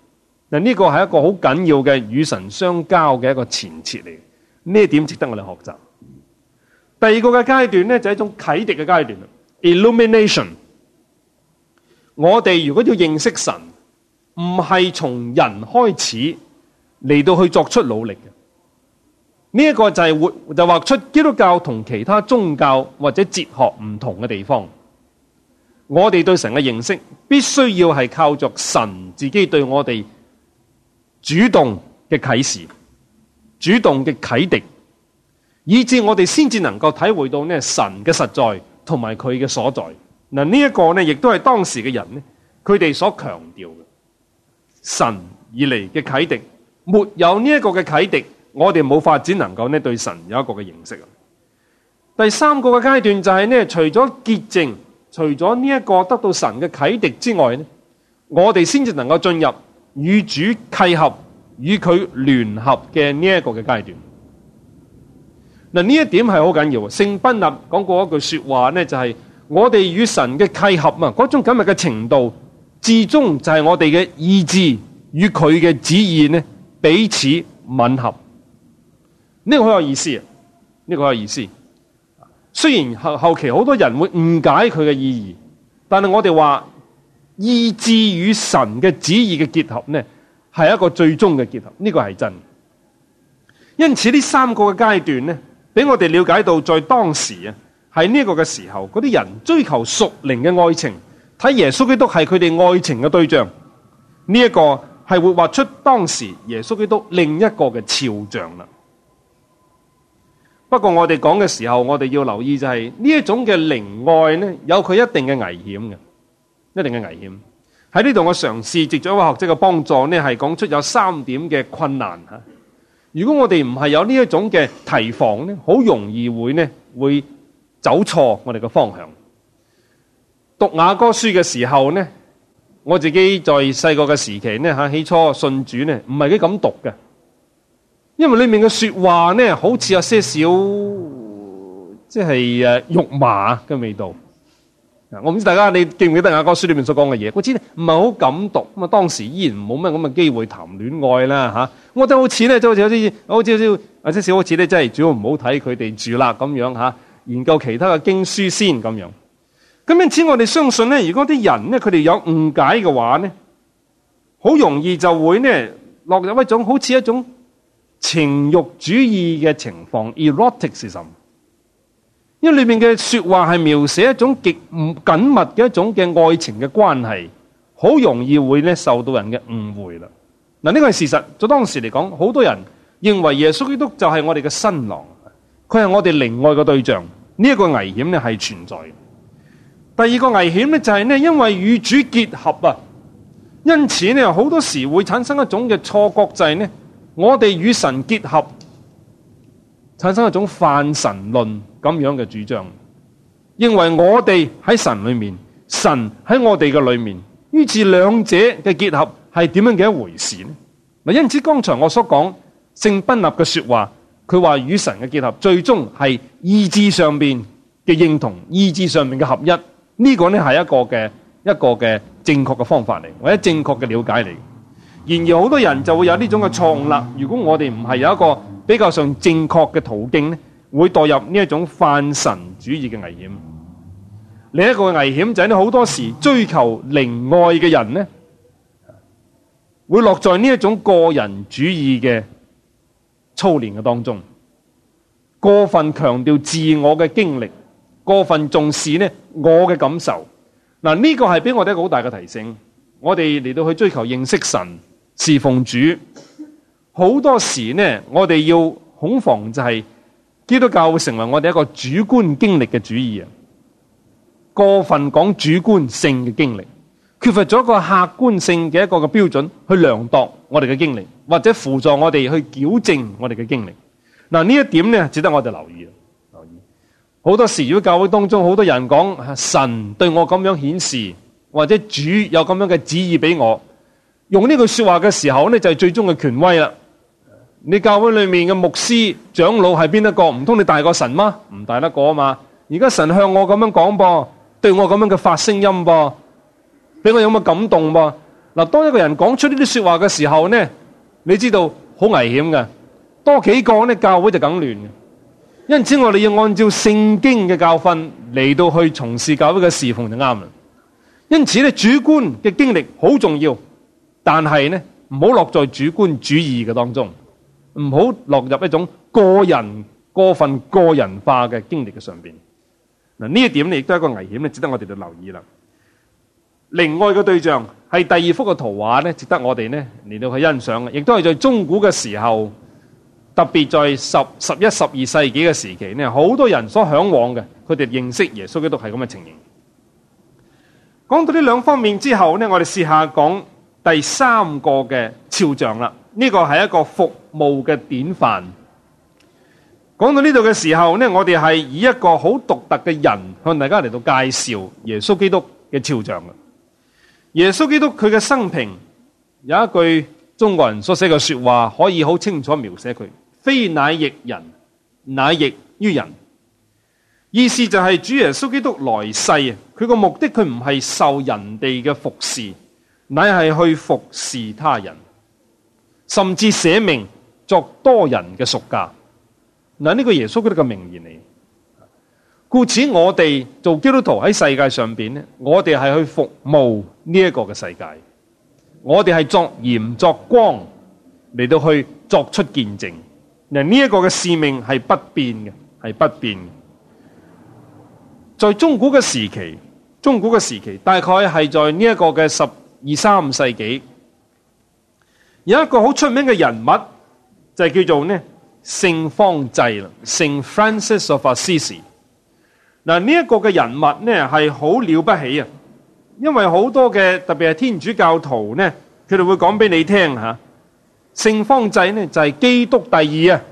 嗱，呢個係一個好緊要嘅與神相交嘅一個前設嚟，呢一點值得我哋學習。第二個嘅階段咧，就係一種啟迪嘅階段 illumination。我哋如果要認識神，唔係從人開始嚟到去作出努力嘅。呢一個就畫出基督教同其他宗教或者哲學唔同嘅地方。我哋對神嘅認識必須要係靠着神自己對我哋主動嘅啟示、主動嘅啟迪，以致我哋先至能夠體會到呢神嘅實在同埋佢嘅所在。嗱，呢一個呢亦都係當時嘅人呢，佢哋所強調嘅神而嚟嘅啟迪。沒有呢一個嘅啟迪，我哋冇法子能夠呢對神有一個嘅認識。第三個嘅階段就係呢，除咗潔淨，除咗呢一個得到神嘅啟迪之外呢，我哋先至能夠進入與主契合、與佢聯合嘅呢一個嘅階段。嗱，呢一點係好緊要。聖賓納講過一句說話呢，就係我哋與神嘅契合啊，嗰種緊密嘅程度，至終就係我哋嘅意志與佢嘅旨意呢彼此吻合。呢個好有意思啊！呢個好有意思。雖然後期好多人會誤解佢嘅意義，但係我哋話意志與神嘅旨意嘅結合呢，係一個最終嘅結合。呢個係真。因此呢三個嘅階段呢，俾我哋了解到，在當時啊，喺呢個嘅時候，嗰啲人追求屬靈嘅愛情，睇耶穌基督係佢哋愛情嘅對象。呢一個係會畫出當時耶穌基督另一個嘅肖像啦。不過我哋講嘅時候，我哋要留意就係呢一種嘅靈愛呢，有佢一定嘅危險嘅，一定嘅危險。喺呢度我嘗試藉咗一位學者嘅幫助呢，係講出有3點嘅困難吓。如果我哋唔係有呢一種嘅提防呢，好容易會走錯我哋嘅方向。讀雅歌書嘅時候呢，我自己在細個嘅時期呢吓，起初信主呢，唔係幾敢讀嘅。因為裏面嘅說話呢，好似有些少即係肉麻嘅味道。我唔知大家你記唔記得雅歌書裏面所講嘅嘢？我知咧唔係好敢讀。咁啊，當時依然冇乜咁嘅機會談戀愛啦吓。我覺得好似咧，就好似咧，真係主要唔好睇佢哋住啦咁樣吓。研究其他嘅經書先咁樣。咁因此我哋相信咧，如果啲人咧佢哋有誤解嘅話咧，好容易就會呢落入一種好似一種情欲主義嘅情況 eroticism， 因為裏面嘅說話係描寫一種極唔緊密嘅一種嘅愛情嘅關係，好容易會咧受到人嘅誤會啦。嗱，呢個係事實。在當時嚟講，好多人認為耶穌基督就係我哋嘅新郎，佢係我哋靈愛嘅對象。呢一個危險咧係存在嘅。第二個危險咧就係咧，因為與主結合啊，因此咧好多時會產生一種嘅錯覺，就係咧我哋與神結合，產生一種泛神論咁樣嘅主張，認為我哋喺神裏面，神喺我哋嘅裏面，於是兩者嘅結合係點樣嘅一回事呢？嗱，因此剛才我所講聖賓納嘅說話，佢話與神嘅結合，最終係意志上面嘅認同，意志上面嘅合一，呢個呢係一個嘅正確嘅方法嚟，或者正確嘅了解嚟。然而好多人就會有呢種嘅錯誤啦。如果我哋唔係有一個比較上正確嘅途徑呢，會墮入呢一種泛神主義嘅危險。另一個危險就係好多時追求靈愛嘅人呢，會落在呢一種個人主義嘅操練嘅當中，過分強調自我嘅經歷，過分重視呢我嘅感受。嗱，呢個係俾我哋一個好大嘅提醒。我哋嚟到去追求認識神、侍奉主，好多時呢，我哋要恐防就係基督教會成為我哋一個主觀經歷嘅主義啊，過分講主觀性嘅經歷，缺乏咗一個客觀性嘅一個嘅標準去量度我哋嘅經歷，或者輔助我哋去矯正我哋嘅經歷。嗱，呢一點呢，值得我哋留意。好多時如果教會當中好多人講神對我咁樣顯示，或者主有咁樣嘅旨意俾我，用呢句說話嘅時候呢，就係最終嘅權威啦。你教會裏面嘅牧師長老係邊一個？唔通你大過神嗎？唔大得過啊嘛。而家神向我咁樣講噃，對我咁樣嘅發聲音噃，俾我有咁嘅感動噃。 嗱，當一個人講出呢啲說話嘅時候呢，你知道好危險嘅，多幾個呢，教會就梗亂嘅。因此我哋要按照聖經嘅教訓嚟到去從事教會嘅侍奉就啱啦。因此咧，主觀嘅經歷好重要，但係呢，唔好落在主觀主義嘅當中，唔好落入一種過分個人化嘅經歷嘅上邊。嗱，呢一點亦都係一個危險咧，值得我哋去留意啦。另外嘅對象係第二幅嘅圖畫咧，值得我哋咧嚟到去欣賞嘅，亦都係在中古嘅時候，特別在11、12世紀嘅時期咧，好多人所向往嘅，佢哋認識耶穌基督係咁嘅情形。講到呢兩方面之後咧，我哋試下講第三個嘅肖像啦。呢個係一個服務嘅典範。講到呢度嘅時候咧，我哋係以一個好獨特嘅人向大家嚟到介紹耶穌基督嘅肖像嘅。耶穌基督佢嘅生平有一句中國人所寫嘅說話，可以好清楚描寫佢：非乃役人，乃役於人。意思就係主耶穌基督來世啊，佢個目的佢唔係受人哋嘅服侍，乃係去服侍他人，甚至捨命作多人嘅贖價。嗱，呢個耶穌基督嘅名言嚟。故此我哋做基督徒喺世界上邊咧，我哋係去服務呢一個嘅世界，我哋係作鹽作光嚟到去作出見證。嗱，呢一個嘅使命係不變嘅，係不變嘅。在中古嘅時期，大概係在呢一個嘅12、13世紀，有一個好出名嘅人物就係叫做呢聖方濟啦，聖 Francis of Assisi。嗱，呢一個嘅人物呢係好了不起啊，因為好多嘅特別係天主教徒呢，佢哋會講俾你聽吓，聖方濟呢就係基督第二啊。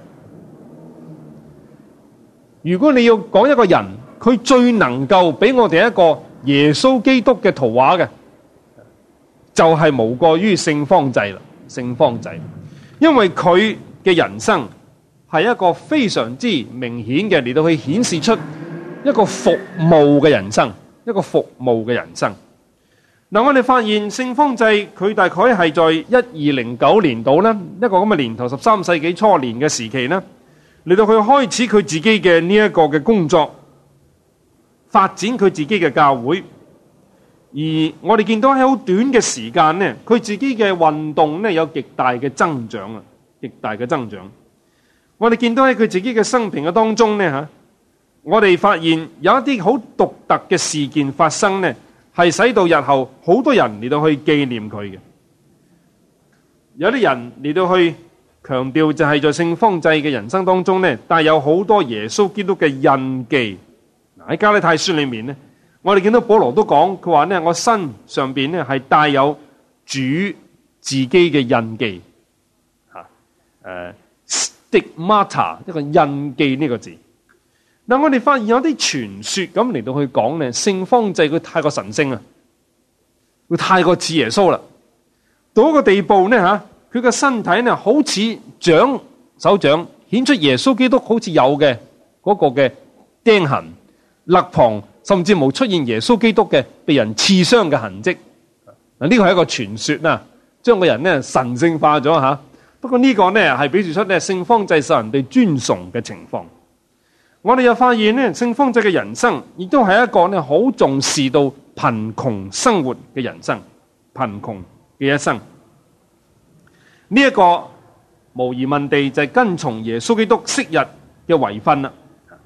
如果你要講一個人，佢最能夠俾我哋一個耶穌基督嘅圖畫嘅，就係無過於聖方濟啦。聖方濟，因為佢嘅人生係一個非常之明顯嘅嚟到去顯示出一個服務嘅人生，一個服務嘅人生。嗱，我哋發現聖方濟佢大概係在1209年度啦，一個咁嘅年頭，13世紀初年嘅時期啦，嚟到佢開始佢自己嘅呢一個嘅工作，發展佢自己嘅教會。而我哋見到喺好短嘅時間呢，佢自己嘅運動呢有極大嘅增長啊，極大嘅增長。我哋見到喺佢自己嘅生平嘅當中呢吓，我哋發現有一啲好獨特嘅事件發生呢，係使到日後好多人嚟到去紀念佢嘅。有啲人嚟到去強調就係在聖方濟嘅人生當中呢，帶有好多耶穌基督嘅印記。喺加拉太書裏面呢，我哋見到保羅都講，佢話呢，我身上邊呢係帶有主自己嘅印記，stigmata 一個印記呢個字。嗱，我哋發現有啲傳說咁嚟到去講呢，聖方濟佢太過神聖啊，佢太過似耶穌啦，到一個地步呢吓，佢個身體呢好似手掌顯出耶穌基督好似有嘅嗰個嘅釘痕、肋旁，甚至冇出現耶穌基督嘅被人刺傷嘅痕跡。嗱，呢個係一個傳說啦，將個人呢神聖化咗吓。不過呢個呢係表示出呢聖方濟受人哋尊崇嘅情況。我哋又發現呢，聖方濟嘅人生亦都係一個呢好重視到貧窮生活嘅人生，貧窮嘅一生。呢一個無疑問地就係跟從耶穌基督昔日嘅遺訓啦。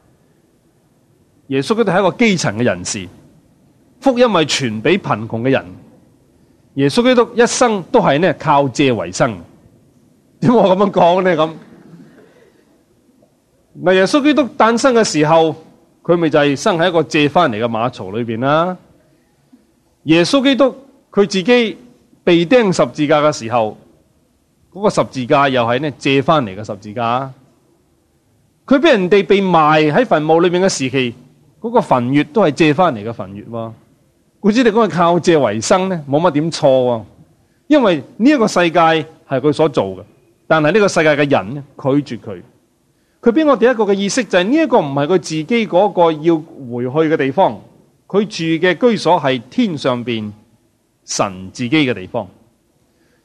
耶穌基督係一個基層嘅人士，福音係傳俾貧窮嘅人。耶穌基督一生都係呢靠借為生。點解我咁樣講呢？咁嗱，耶穌基督誕生嘅時候，佢咪就係生喺一個借翻嚟嘅馬槽裏邊啦。耶穌基督佢自己被釘十字架嘅時候，嗰個十字架又係呢借翻嚟嘅十字架。佢俾人哋被埋喺墳墓裏面嘅時期，嗰個墳穴都係借翻嚟嘅墳穴。故此你講係靠借為生呢，冇乜點錯。因為呢一個世界係佢所做嘅，但係呢個世界嘅人呢拒絕佢。佢俾我哋一個嘅意識就係呢一個唔係佢自己嗰個要回去嘅地方，佢住嘅居所係天上邊神自己嘅地方，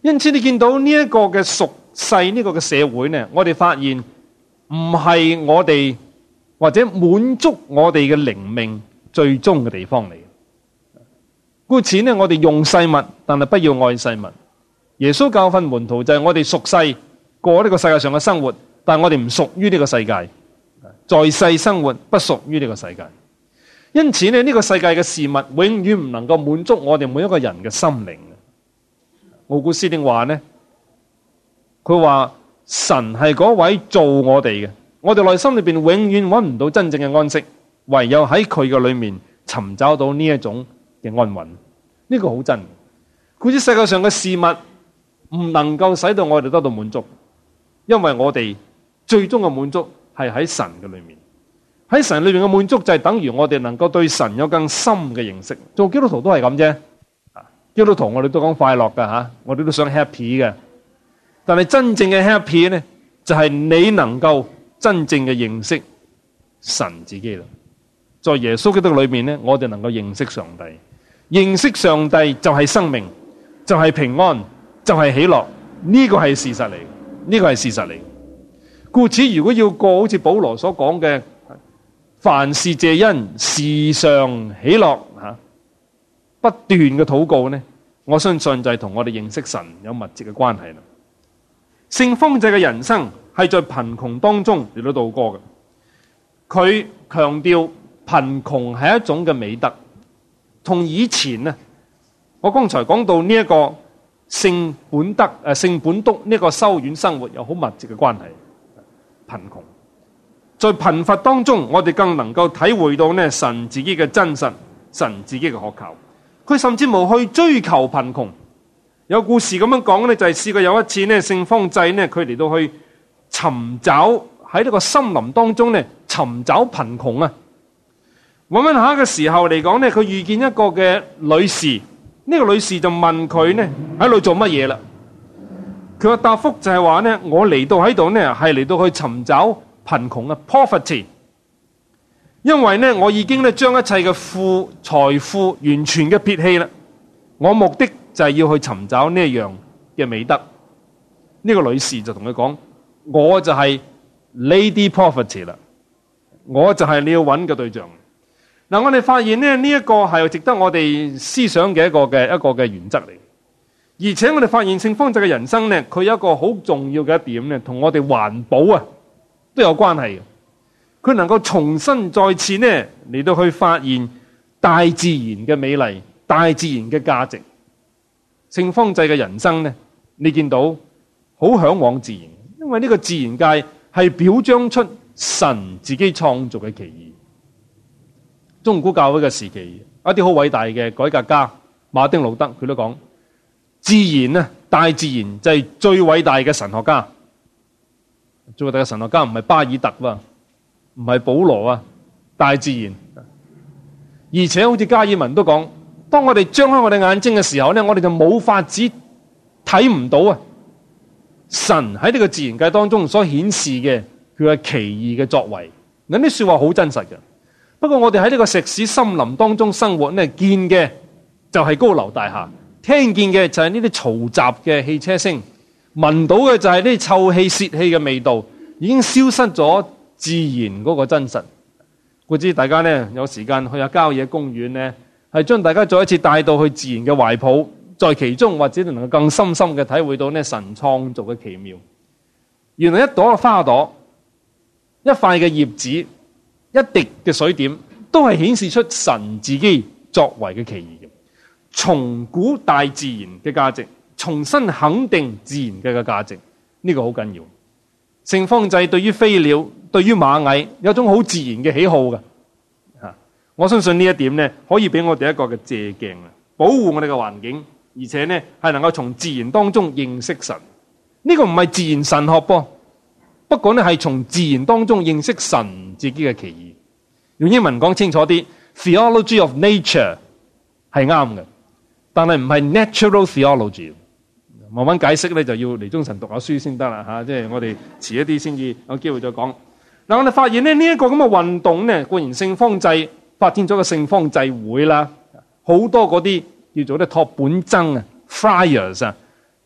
因此你見到呢一個嘅俗世呢個嘅社會呢，我哋發現唔係我哋或者滿足我哋嘅靈命最終嘅地方嚟。故此呢，我哋用世物，但係不要愛世物。耶穌教訓門徒就係我哋屬世過呢個世界上嘅生活，但係我哋唔屬於呢個世界，在世生活不屬於呢個世界。因此呢，呢個世界嘅事物永遠唔能夠滿足我哋每一個人嘅心靈。奧古斯丁話呢，佢話神係嗰位做我哋嘅，我哋內心裏邊永遠揾唔到真正嘅安息，唯有喺佢嘅裏面尋找到呢一種嘅安穩。呢個好真。故此世界上嘅事物唔能夠使到我哋得到滿足，因為我哋最終嘅滿足係喺神嘅裏面。喺神裏面嘅滿足就係等於我哋能夠對神有更深嘅認識。做基督徒都係咁啫。基督徒我哋都講快樂噶吓，我哋都想 happy 嘅。但係真正嘅 happy 呢，就係你能夠真正嘅認識神自己啦。在耶穌基督裏面呢，我哋能夠認識上帝。認識上帝就係生命，就係平安，就係喜樂。呢個係事實嚟，呢個係事實嚟。故此，如果要過好似保羅所講嘅，凡事謝恩，時常喜樂吓，不斷嘅禱告呢，我相信就係同我哋認識神有密切嘅關係啦。聖方濟嘅人生係在貧窮當中嚟到度過嘅，佢強調貧窮係一種嘅美德，同以前呢，我剛才講到呢一個聖本篤呢個修院生活有好密切嘅關係。貧窮在貧乏當中，我哋更能夠體會到呢神自己嘅真實，神自己嘅可靠。佢甚至冇去追求貧窮。有故事咁樣講呢，就係試過有一次呢，聖方濟呢，佢嚟到去尋找喺呢個森林當中呢，尋找貧窮啊。揾下嘅時候嚟講呢，佢遇見一個嘅女士，呢個女士就問佢呢喺度做乜嘢啦？佢嘅答覆就係話呢，我嚟到喺度呢，係嚟到去尋找貧窮啊 ，poverty。因為呢，我已經呢將一切嘅財富完全嘅撇棄啦。我目的就係要去尋找呢一樣嘅美德。呢個女士就同佢講：我就係 Lady Poverty 啦，我就係你要揾嘅對象。嗱，我哋發現呢一個係值得我哋思想嘅一個嘅原則嚟。而且我哋發現聖方濟嘅人生呢，佢有一個好重要嘅一點呢，同我哋環保啊都有關係嘅。佢能夠重新再次呢嚟到去發現大自然嘅美麗、大自然嘅價值。聖方濟嘅人生呢，你見到好向往自然，因為呢個自然界係表彰出神自己創造嘅奇異。中古教會嘅時期，一啲好偉大嘅改革家馬丁路德佢都講：自然啊，大自然就係最偉大嘅神學家。最偉大嘅神學家唔係巴爾特喎，唔係保羅啊，大自然。而且好似加爾文都講，當我哋張開我哋眼睛嘅時候呢，我哋就冇法子睇唔到啊神喺呢個自然界當中所顯示嘅佢嘅奇異嘅作為。嗱，啲說話好真實嘅。不過我哋喺呢個石屎森林當中生活呢，見嘅就係高樓大廈，聽見嘅就係呢啲嘈雜嘅汽車聲，聞到嘅就係呢啲臭氣泄氣嘅味道，已經消失咗自然嗰個真實。故知大家呢，有時間去下郊野公園呢，係將大家再一次帶到去自然嘅懷抱，在其中或者能夠更深深嘅體會到呢神創造嘅奇妙。原來一朵嘅花朵，一塊嘅葉子，一滴嘅水點，都係顯示出神自己作為嘅奇異嘅，重估大自然嘅價值，重新肯定自然嘅價值，呢個好緊要。聖方濟對於飛鳥、對於螞蟻有一種好自然嘅喜好嘅，我相信呢一點呢，可以俾我哋一個嘅借鏡啊，保護我哋嘅環境，而且呢係能夠從自然當中認識神。呢個唔係自然神學噃，不過呢係從自然當中認識神自己嘅奇異。用英文講清楚啲 ，theology of nature 係啱嘅，但係唔係 natural theology。慢慢解釋咧，就要嚟中神讀下書先得啦吓，即係我哋遲一啲先至有機會再講。嗱，我哋發現咧呢一個咁嘅運動呢，固然聖方濟發展咗個聖方濟會啦，好多嗰啲叫做咧托本僧啊 friars 啊，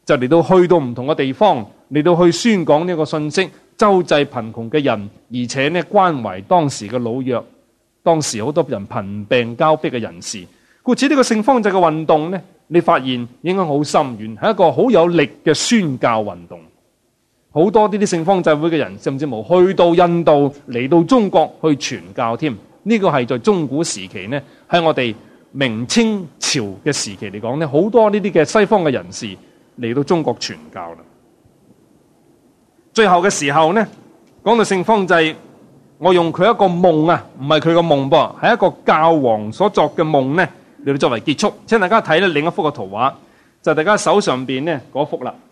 就嚟到去到唔同嘅地方，嚟到去宣講呢個信息，周濟貧窮嘅人，而且呢關懷當時嘅老弱，當時好多人貧病交迫嘅人士。故此呢個聖方濟嘅運動呢，你發現影響好深遠，係一個好有力嘅宣教運動。好多呢啲聖方濟會嘅人，甚至乎去到印度，嚟到中國去傳教添。呢個係在中古時期呢，喺我哋明清朝嘅時期嚟講呢，好多呢啲嘅西方嘅人士嚟到中國傳教啦。最後嘅時候呢，講到聖方濟，我用佢一個夢啊，唔係佢個夢噃，係一個教皇所作嘅夢呢，嚟到作為結束。請大家睇咧另一幅嘅圖畫，就係大家手上邊呢嗰幅啦。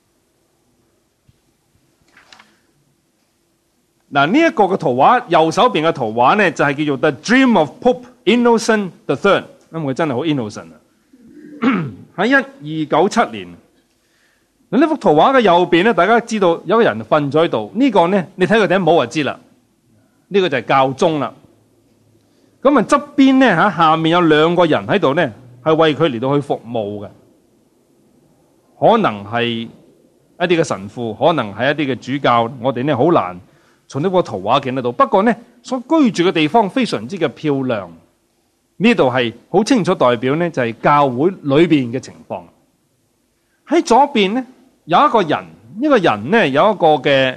嗱，呢一個嘅圖畫，右手邊嘅圖畫呢，就係叫做 The Dream of Pope Innocent III， 因為佢真係好 innocent 啊！喺1297年，嗱，呢幅圖畫嘅右邊呢，大家知道有個人瞓咗喺度，呢個呢，你睇佢頂帽就知啦，呢個就係教宗啦。咁啊側邊呢，下面有兩個人喺度呢，係為佢嚟到去服務嘅，可能係一啲嘅神父，可能係一啲嘅主教，我哋呢好難從呢個圖畫見得到。不過呢，所居住嘅地方非常之嘅漂亮，呢度係好清楚代表呢，就係教會裏邊嘅情況。喺左邊呢，有一個人，呢個人呢，有一個嘅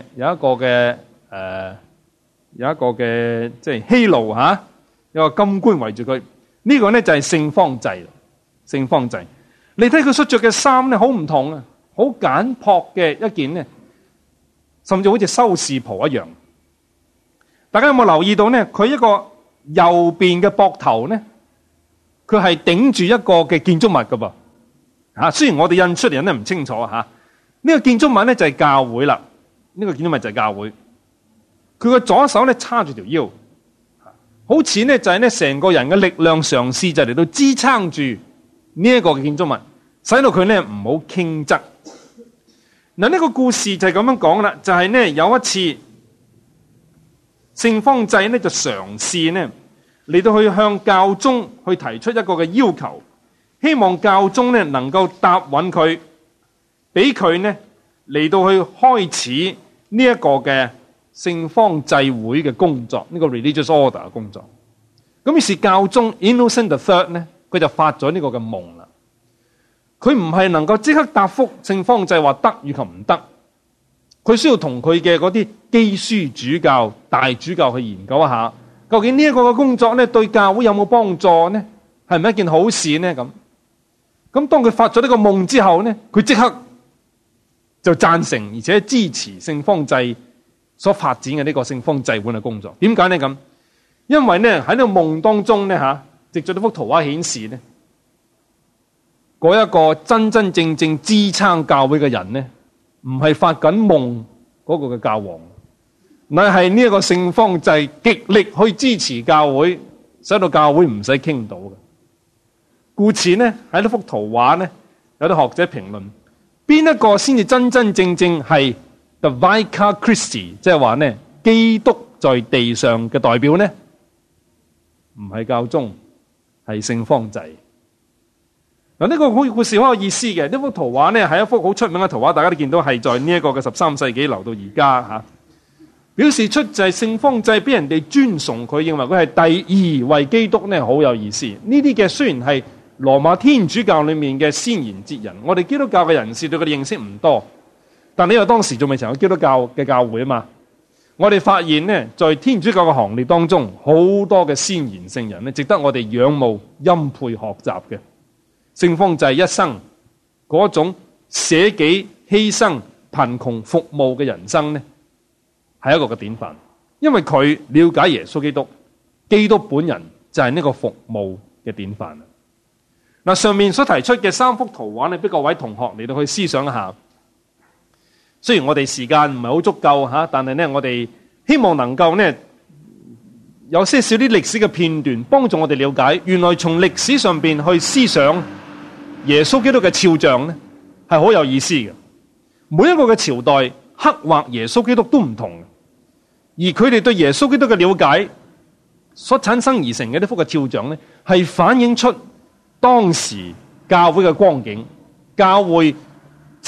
即係希路吓，有個金冠圍住佢。呢個呢就係聖方濟。聖方濟，你睇佢所着嘅衫呢，好唔同啊，好簡樸嘅一件呢，甚至好似修士袍一樣。大家有冇留意到呢？佢一個右邊嘅膊頭呢，佢係頂住一個嘅建築物噶噃吓。雖然我哋印出嚟印得唔清楚吓，呢個建築物呢就係教會啦。呢個建築物就係教會。佢個左手呢叉住條腰，好似呢就係呢成個人嘅力量嘗試就嚟到支撐住呢一個嘅建築物，使到佢呢唔好傾側。嗱，呢個故事就係咁樣講啦，就係呢有一次。聖方濟呢就嘗試呢嚟到去向教宗去提出一個嘅要求，希望教宗呢能夠答允佢，俾佢呢嚟到去開始呢一個嘅聖方濟會嘅工作，呢個 religious order 嘅工作。咁於是教宗 Innocent III 呢，佢就發咗呢個嘅夢啦。佢唔係能夠即刻答覆聖方濟話得與及唔得。佢需要同佢嘅嗰啲基書主教、大主教去研究一下，究竟呢一個嘅工作咧對教會有冇幫助呢？係唔係一件好事呢？咁當佢發咗呢個夢之後呢，佢即刻就贊成而且支持聖方濟所發展嘅呢個聖方濟會嘅工作。點解呢？咁因為呢喺呢個夢當中呢藉著呢幅圖畫顯示呢，嗰一個真真正正支撐教會嘅人呢，唔係發緊夢嗰個嘅教皇，乃係呢一個聖方濟極力去支持教會，使到教會唔使傾到嘅。故此呢，喺呢幅圖畫呢，有啲學者評論，邊一個先至真真正正係 The Vicar Christi， 即係話呢基督在地上嘅代表呢？唔係教宗，係聖方濟。嗱，呢個故事好有意思嘅。呢幅圖畫呢係一幅好出名嘅圖畫，大家都見到係在呢一個嘅13世紀留到而家吓，表示出就係聖方濟俾人哋尊崇，佢認為佢係第二位基督呢，好有意思。呢啲嘅雖然係羅馬天主教裏面嘅先賢哲人，我哋基督教嘅人士對佢哋認識唔多，但因為當時仲未曾有基督教嘅教會啊嘛，我哋發現呢，在天主教嘅行列當中，好多嘅先賢聖人呢，值得我哋仰慕欽佩學習嘅。聖方濟一生嗰種捨己犧牲、貧窮服務嘅人生呢，係一個嘅典範。因為佢了解耶穌基督，基督本人就係呢個服務嘅典範。嗱，上面所提出嘅3幅圖畫呢，俾各位同學嚟到去思想一下。雖然我哋時間唔係好足夠吓，但係呢，我哋希望能夠呢，有些少啲歷史嘅片段，幫助我哋了解，原來從歷史上邊去思想耶穌基督嘅肖像呢，係好有意思嘅。每一個嘅朝代刻畫耶穌基督都唔同嘅，而佢哋對耶穌基督嘅了解所產生而成嘅呢幅嘅肖像呢，係反映出當時教會嘅光景，教會自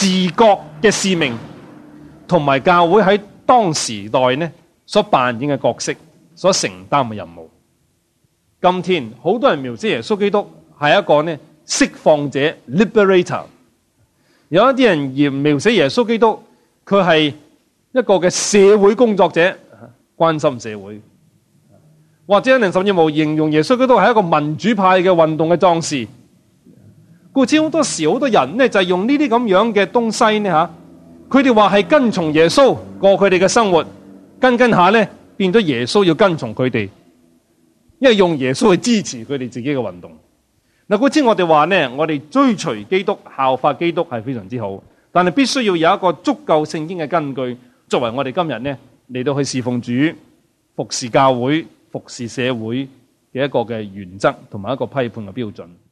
自覺嘅使命，同埋教會喺當時代呢所扮演嘅角色，所承擔嘅任務。今天好多人描寫耶穌基督係一個呢釋放者 liberator， 有一啲人而描寫耶穌基督佢係一個嘅社會工作者，關心社會，或者人甚至冇形容耶穌基督係一個民主派嘅運動嘅壯士。故此好多時好多人呢就係用呢啲咁樣嘅東西呢吓，佢哋話係跟從耶穌過佢哋嘅生活，跟下呢變咗耶穌要跟從佢哋，因為用耶穌去支持佢哋自己嘅運動。嗱，故此我哋話呢，我哋追隨基督、效法基督係非常之好，但係必須要有一個足夠聖經嘅根據，作為我哋今日呢嚟到去侍奉主、服侍教會、服侍社會嘅一個嘅原則同埋一個批判嘅標準。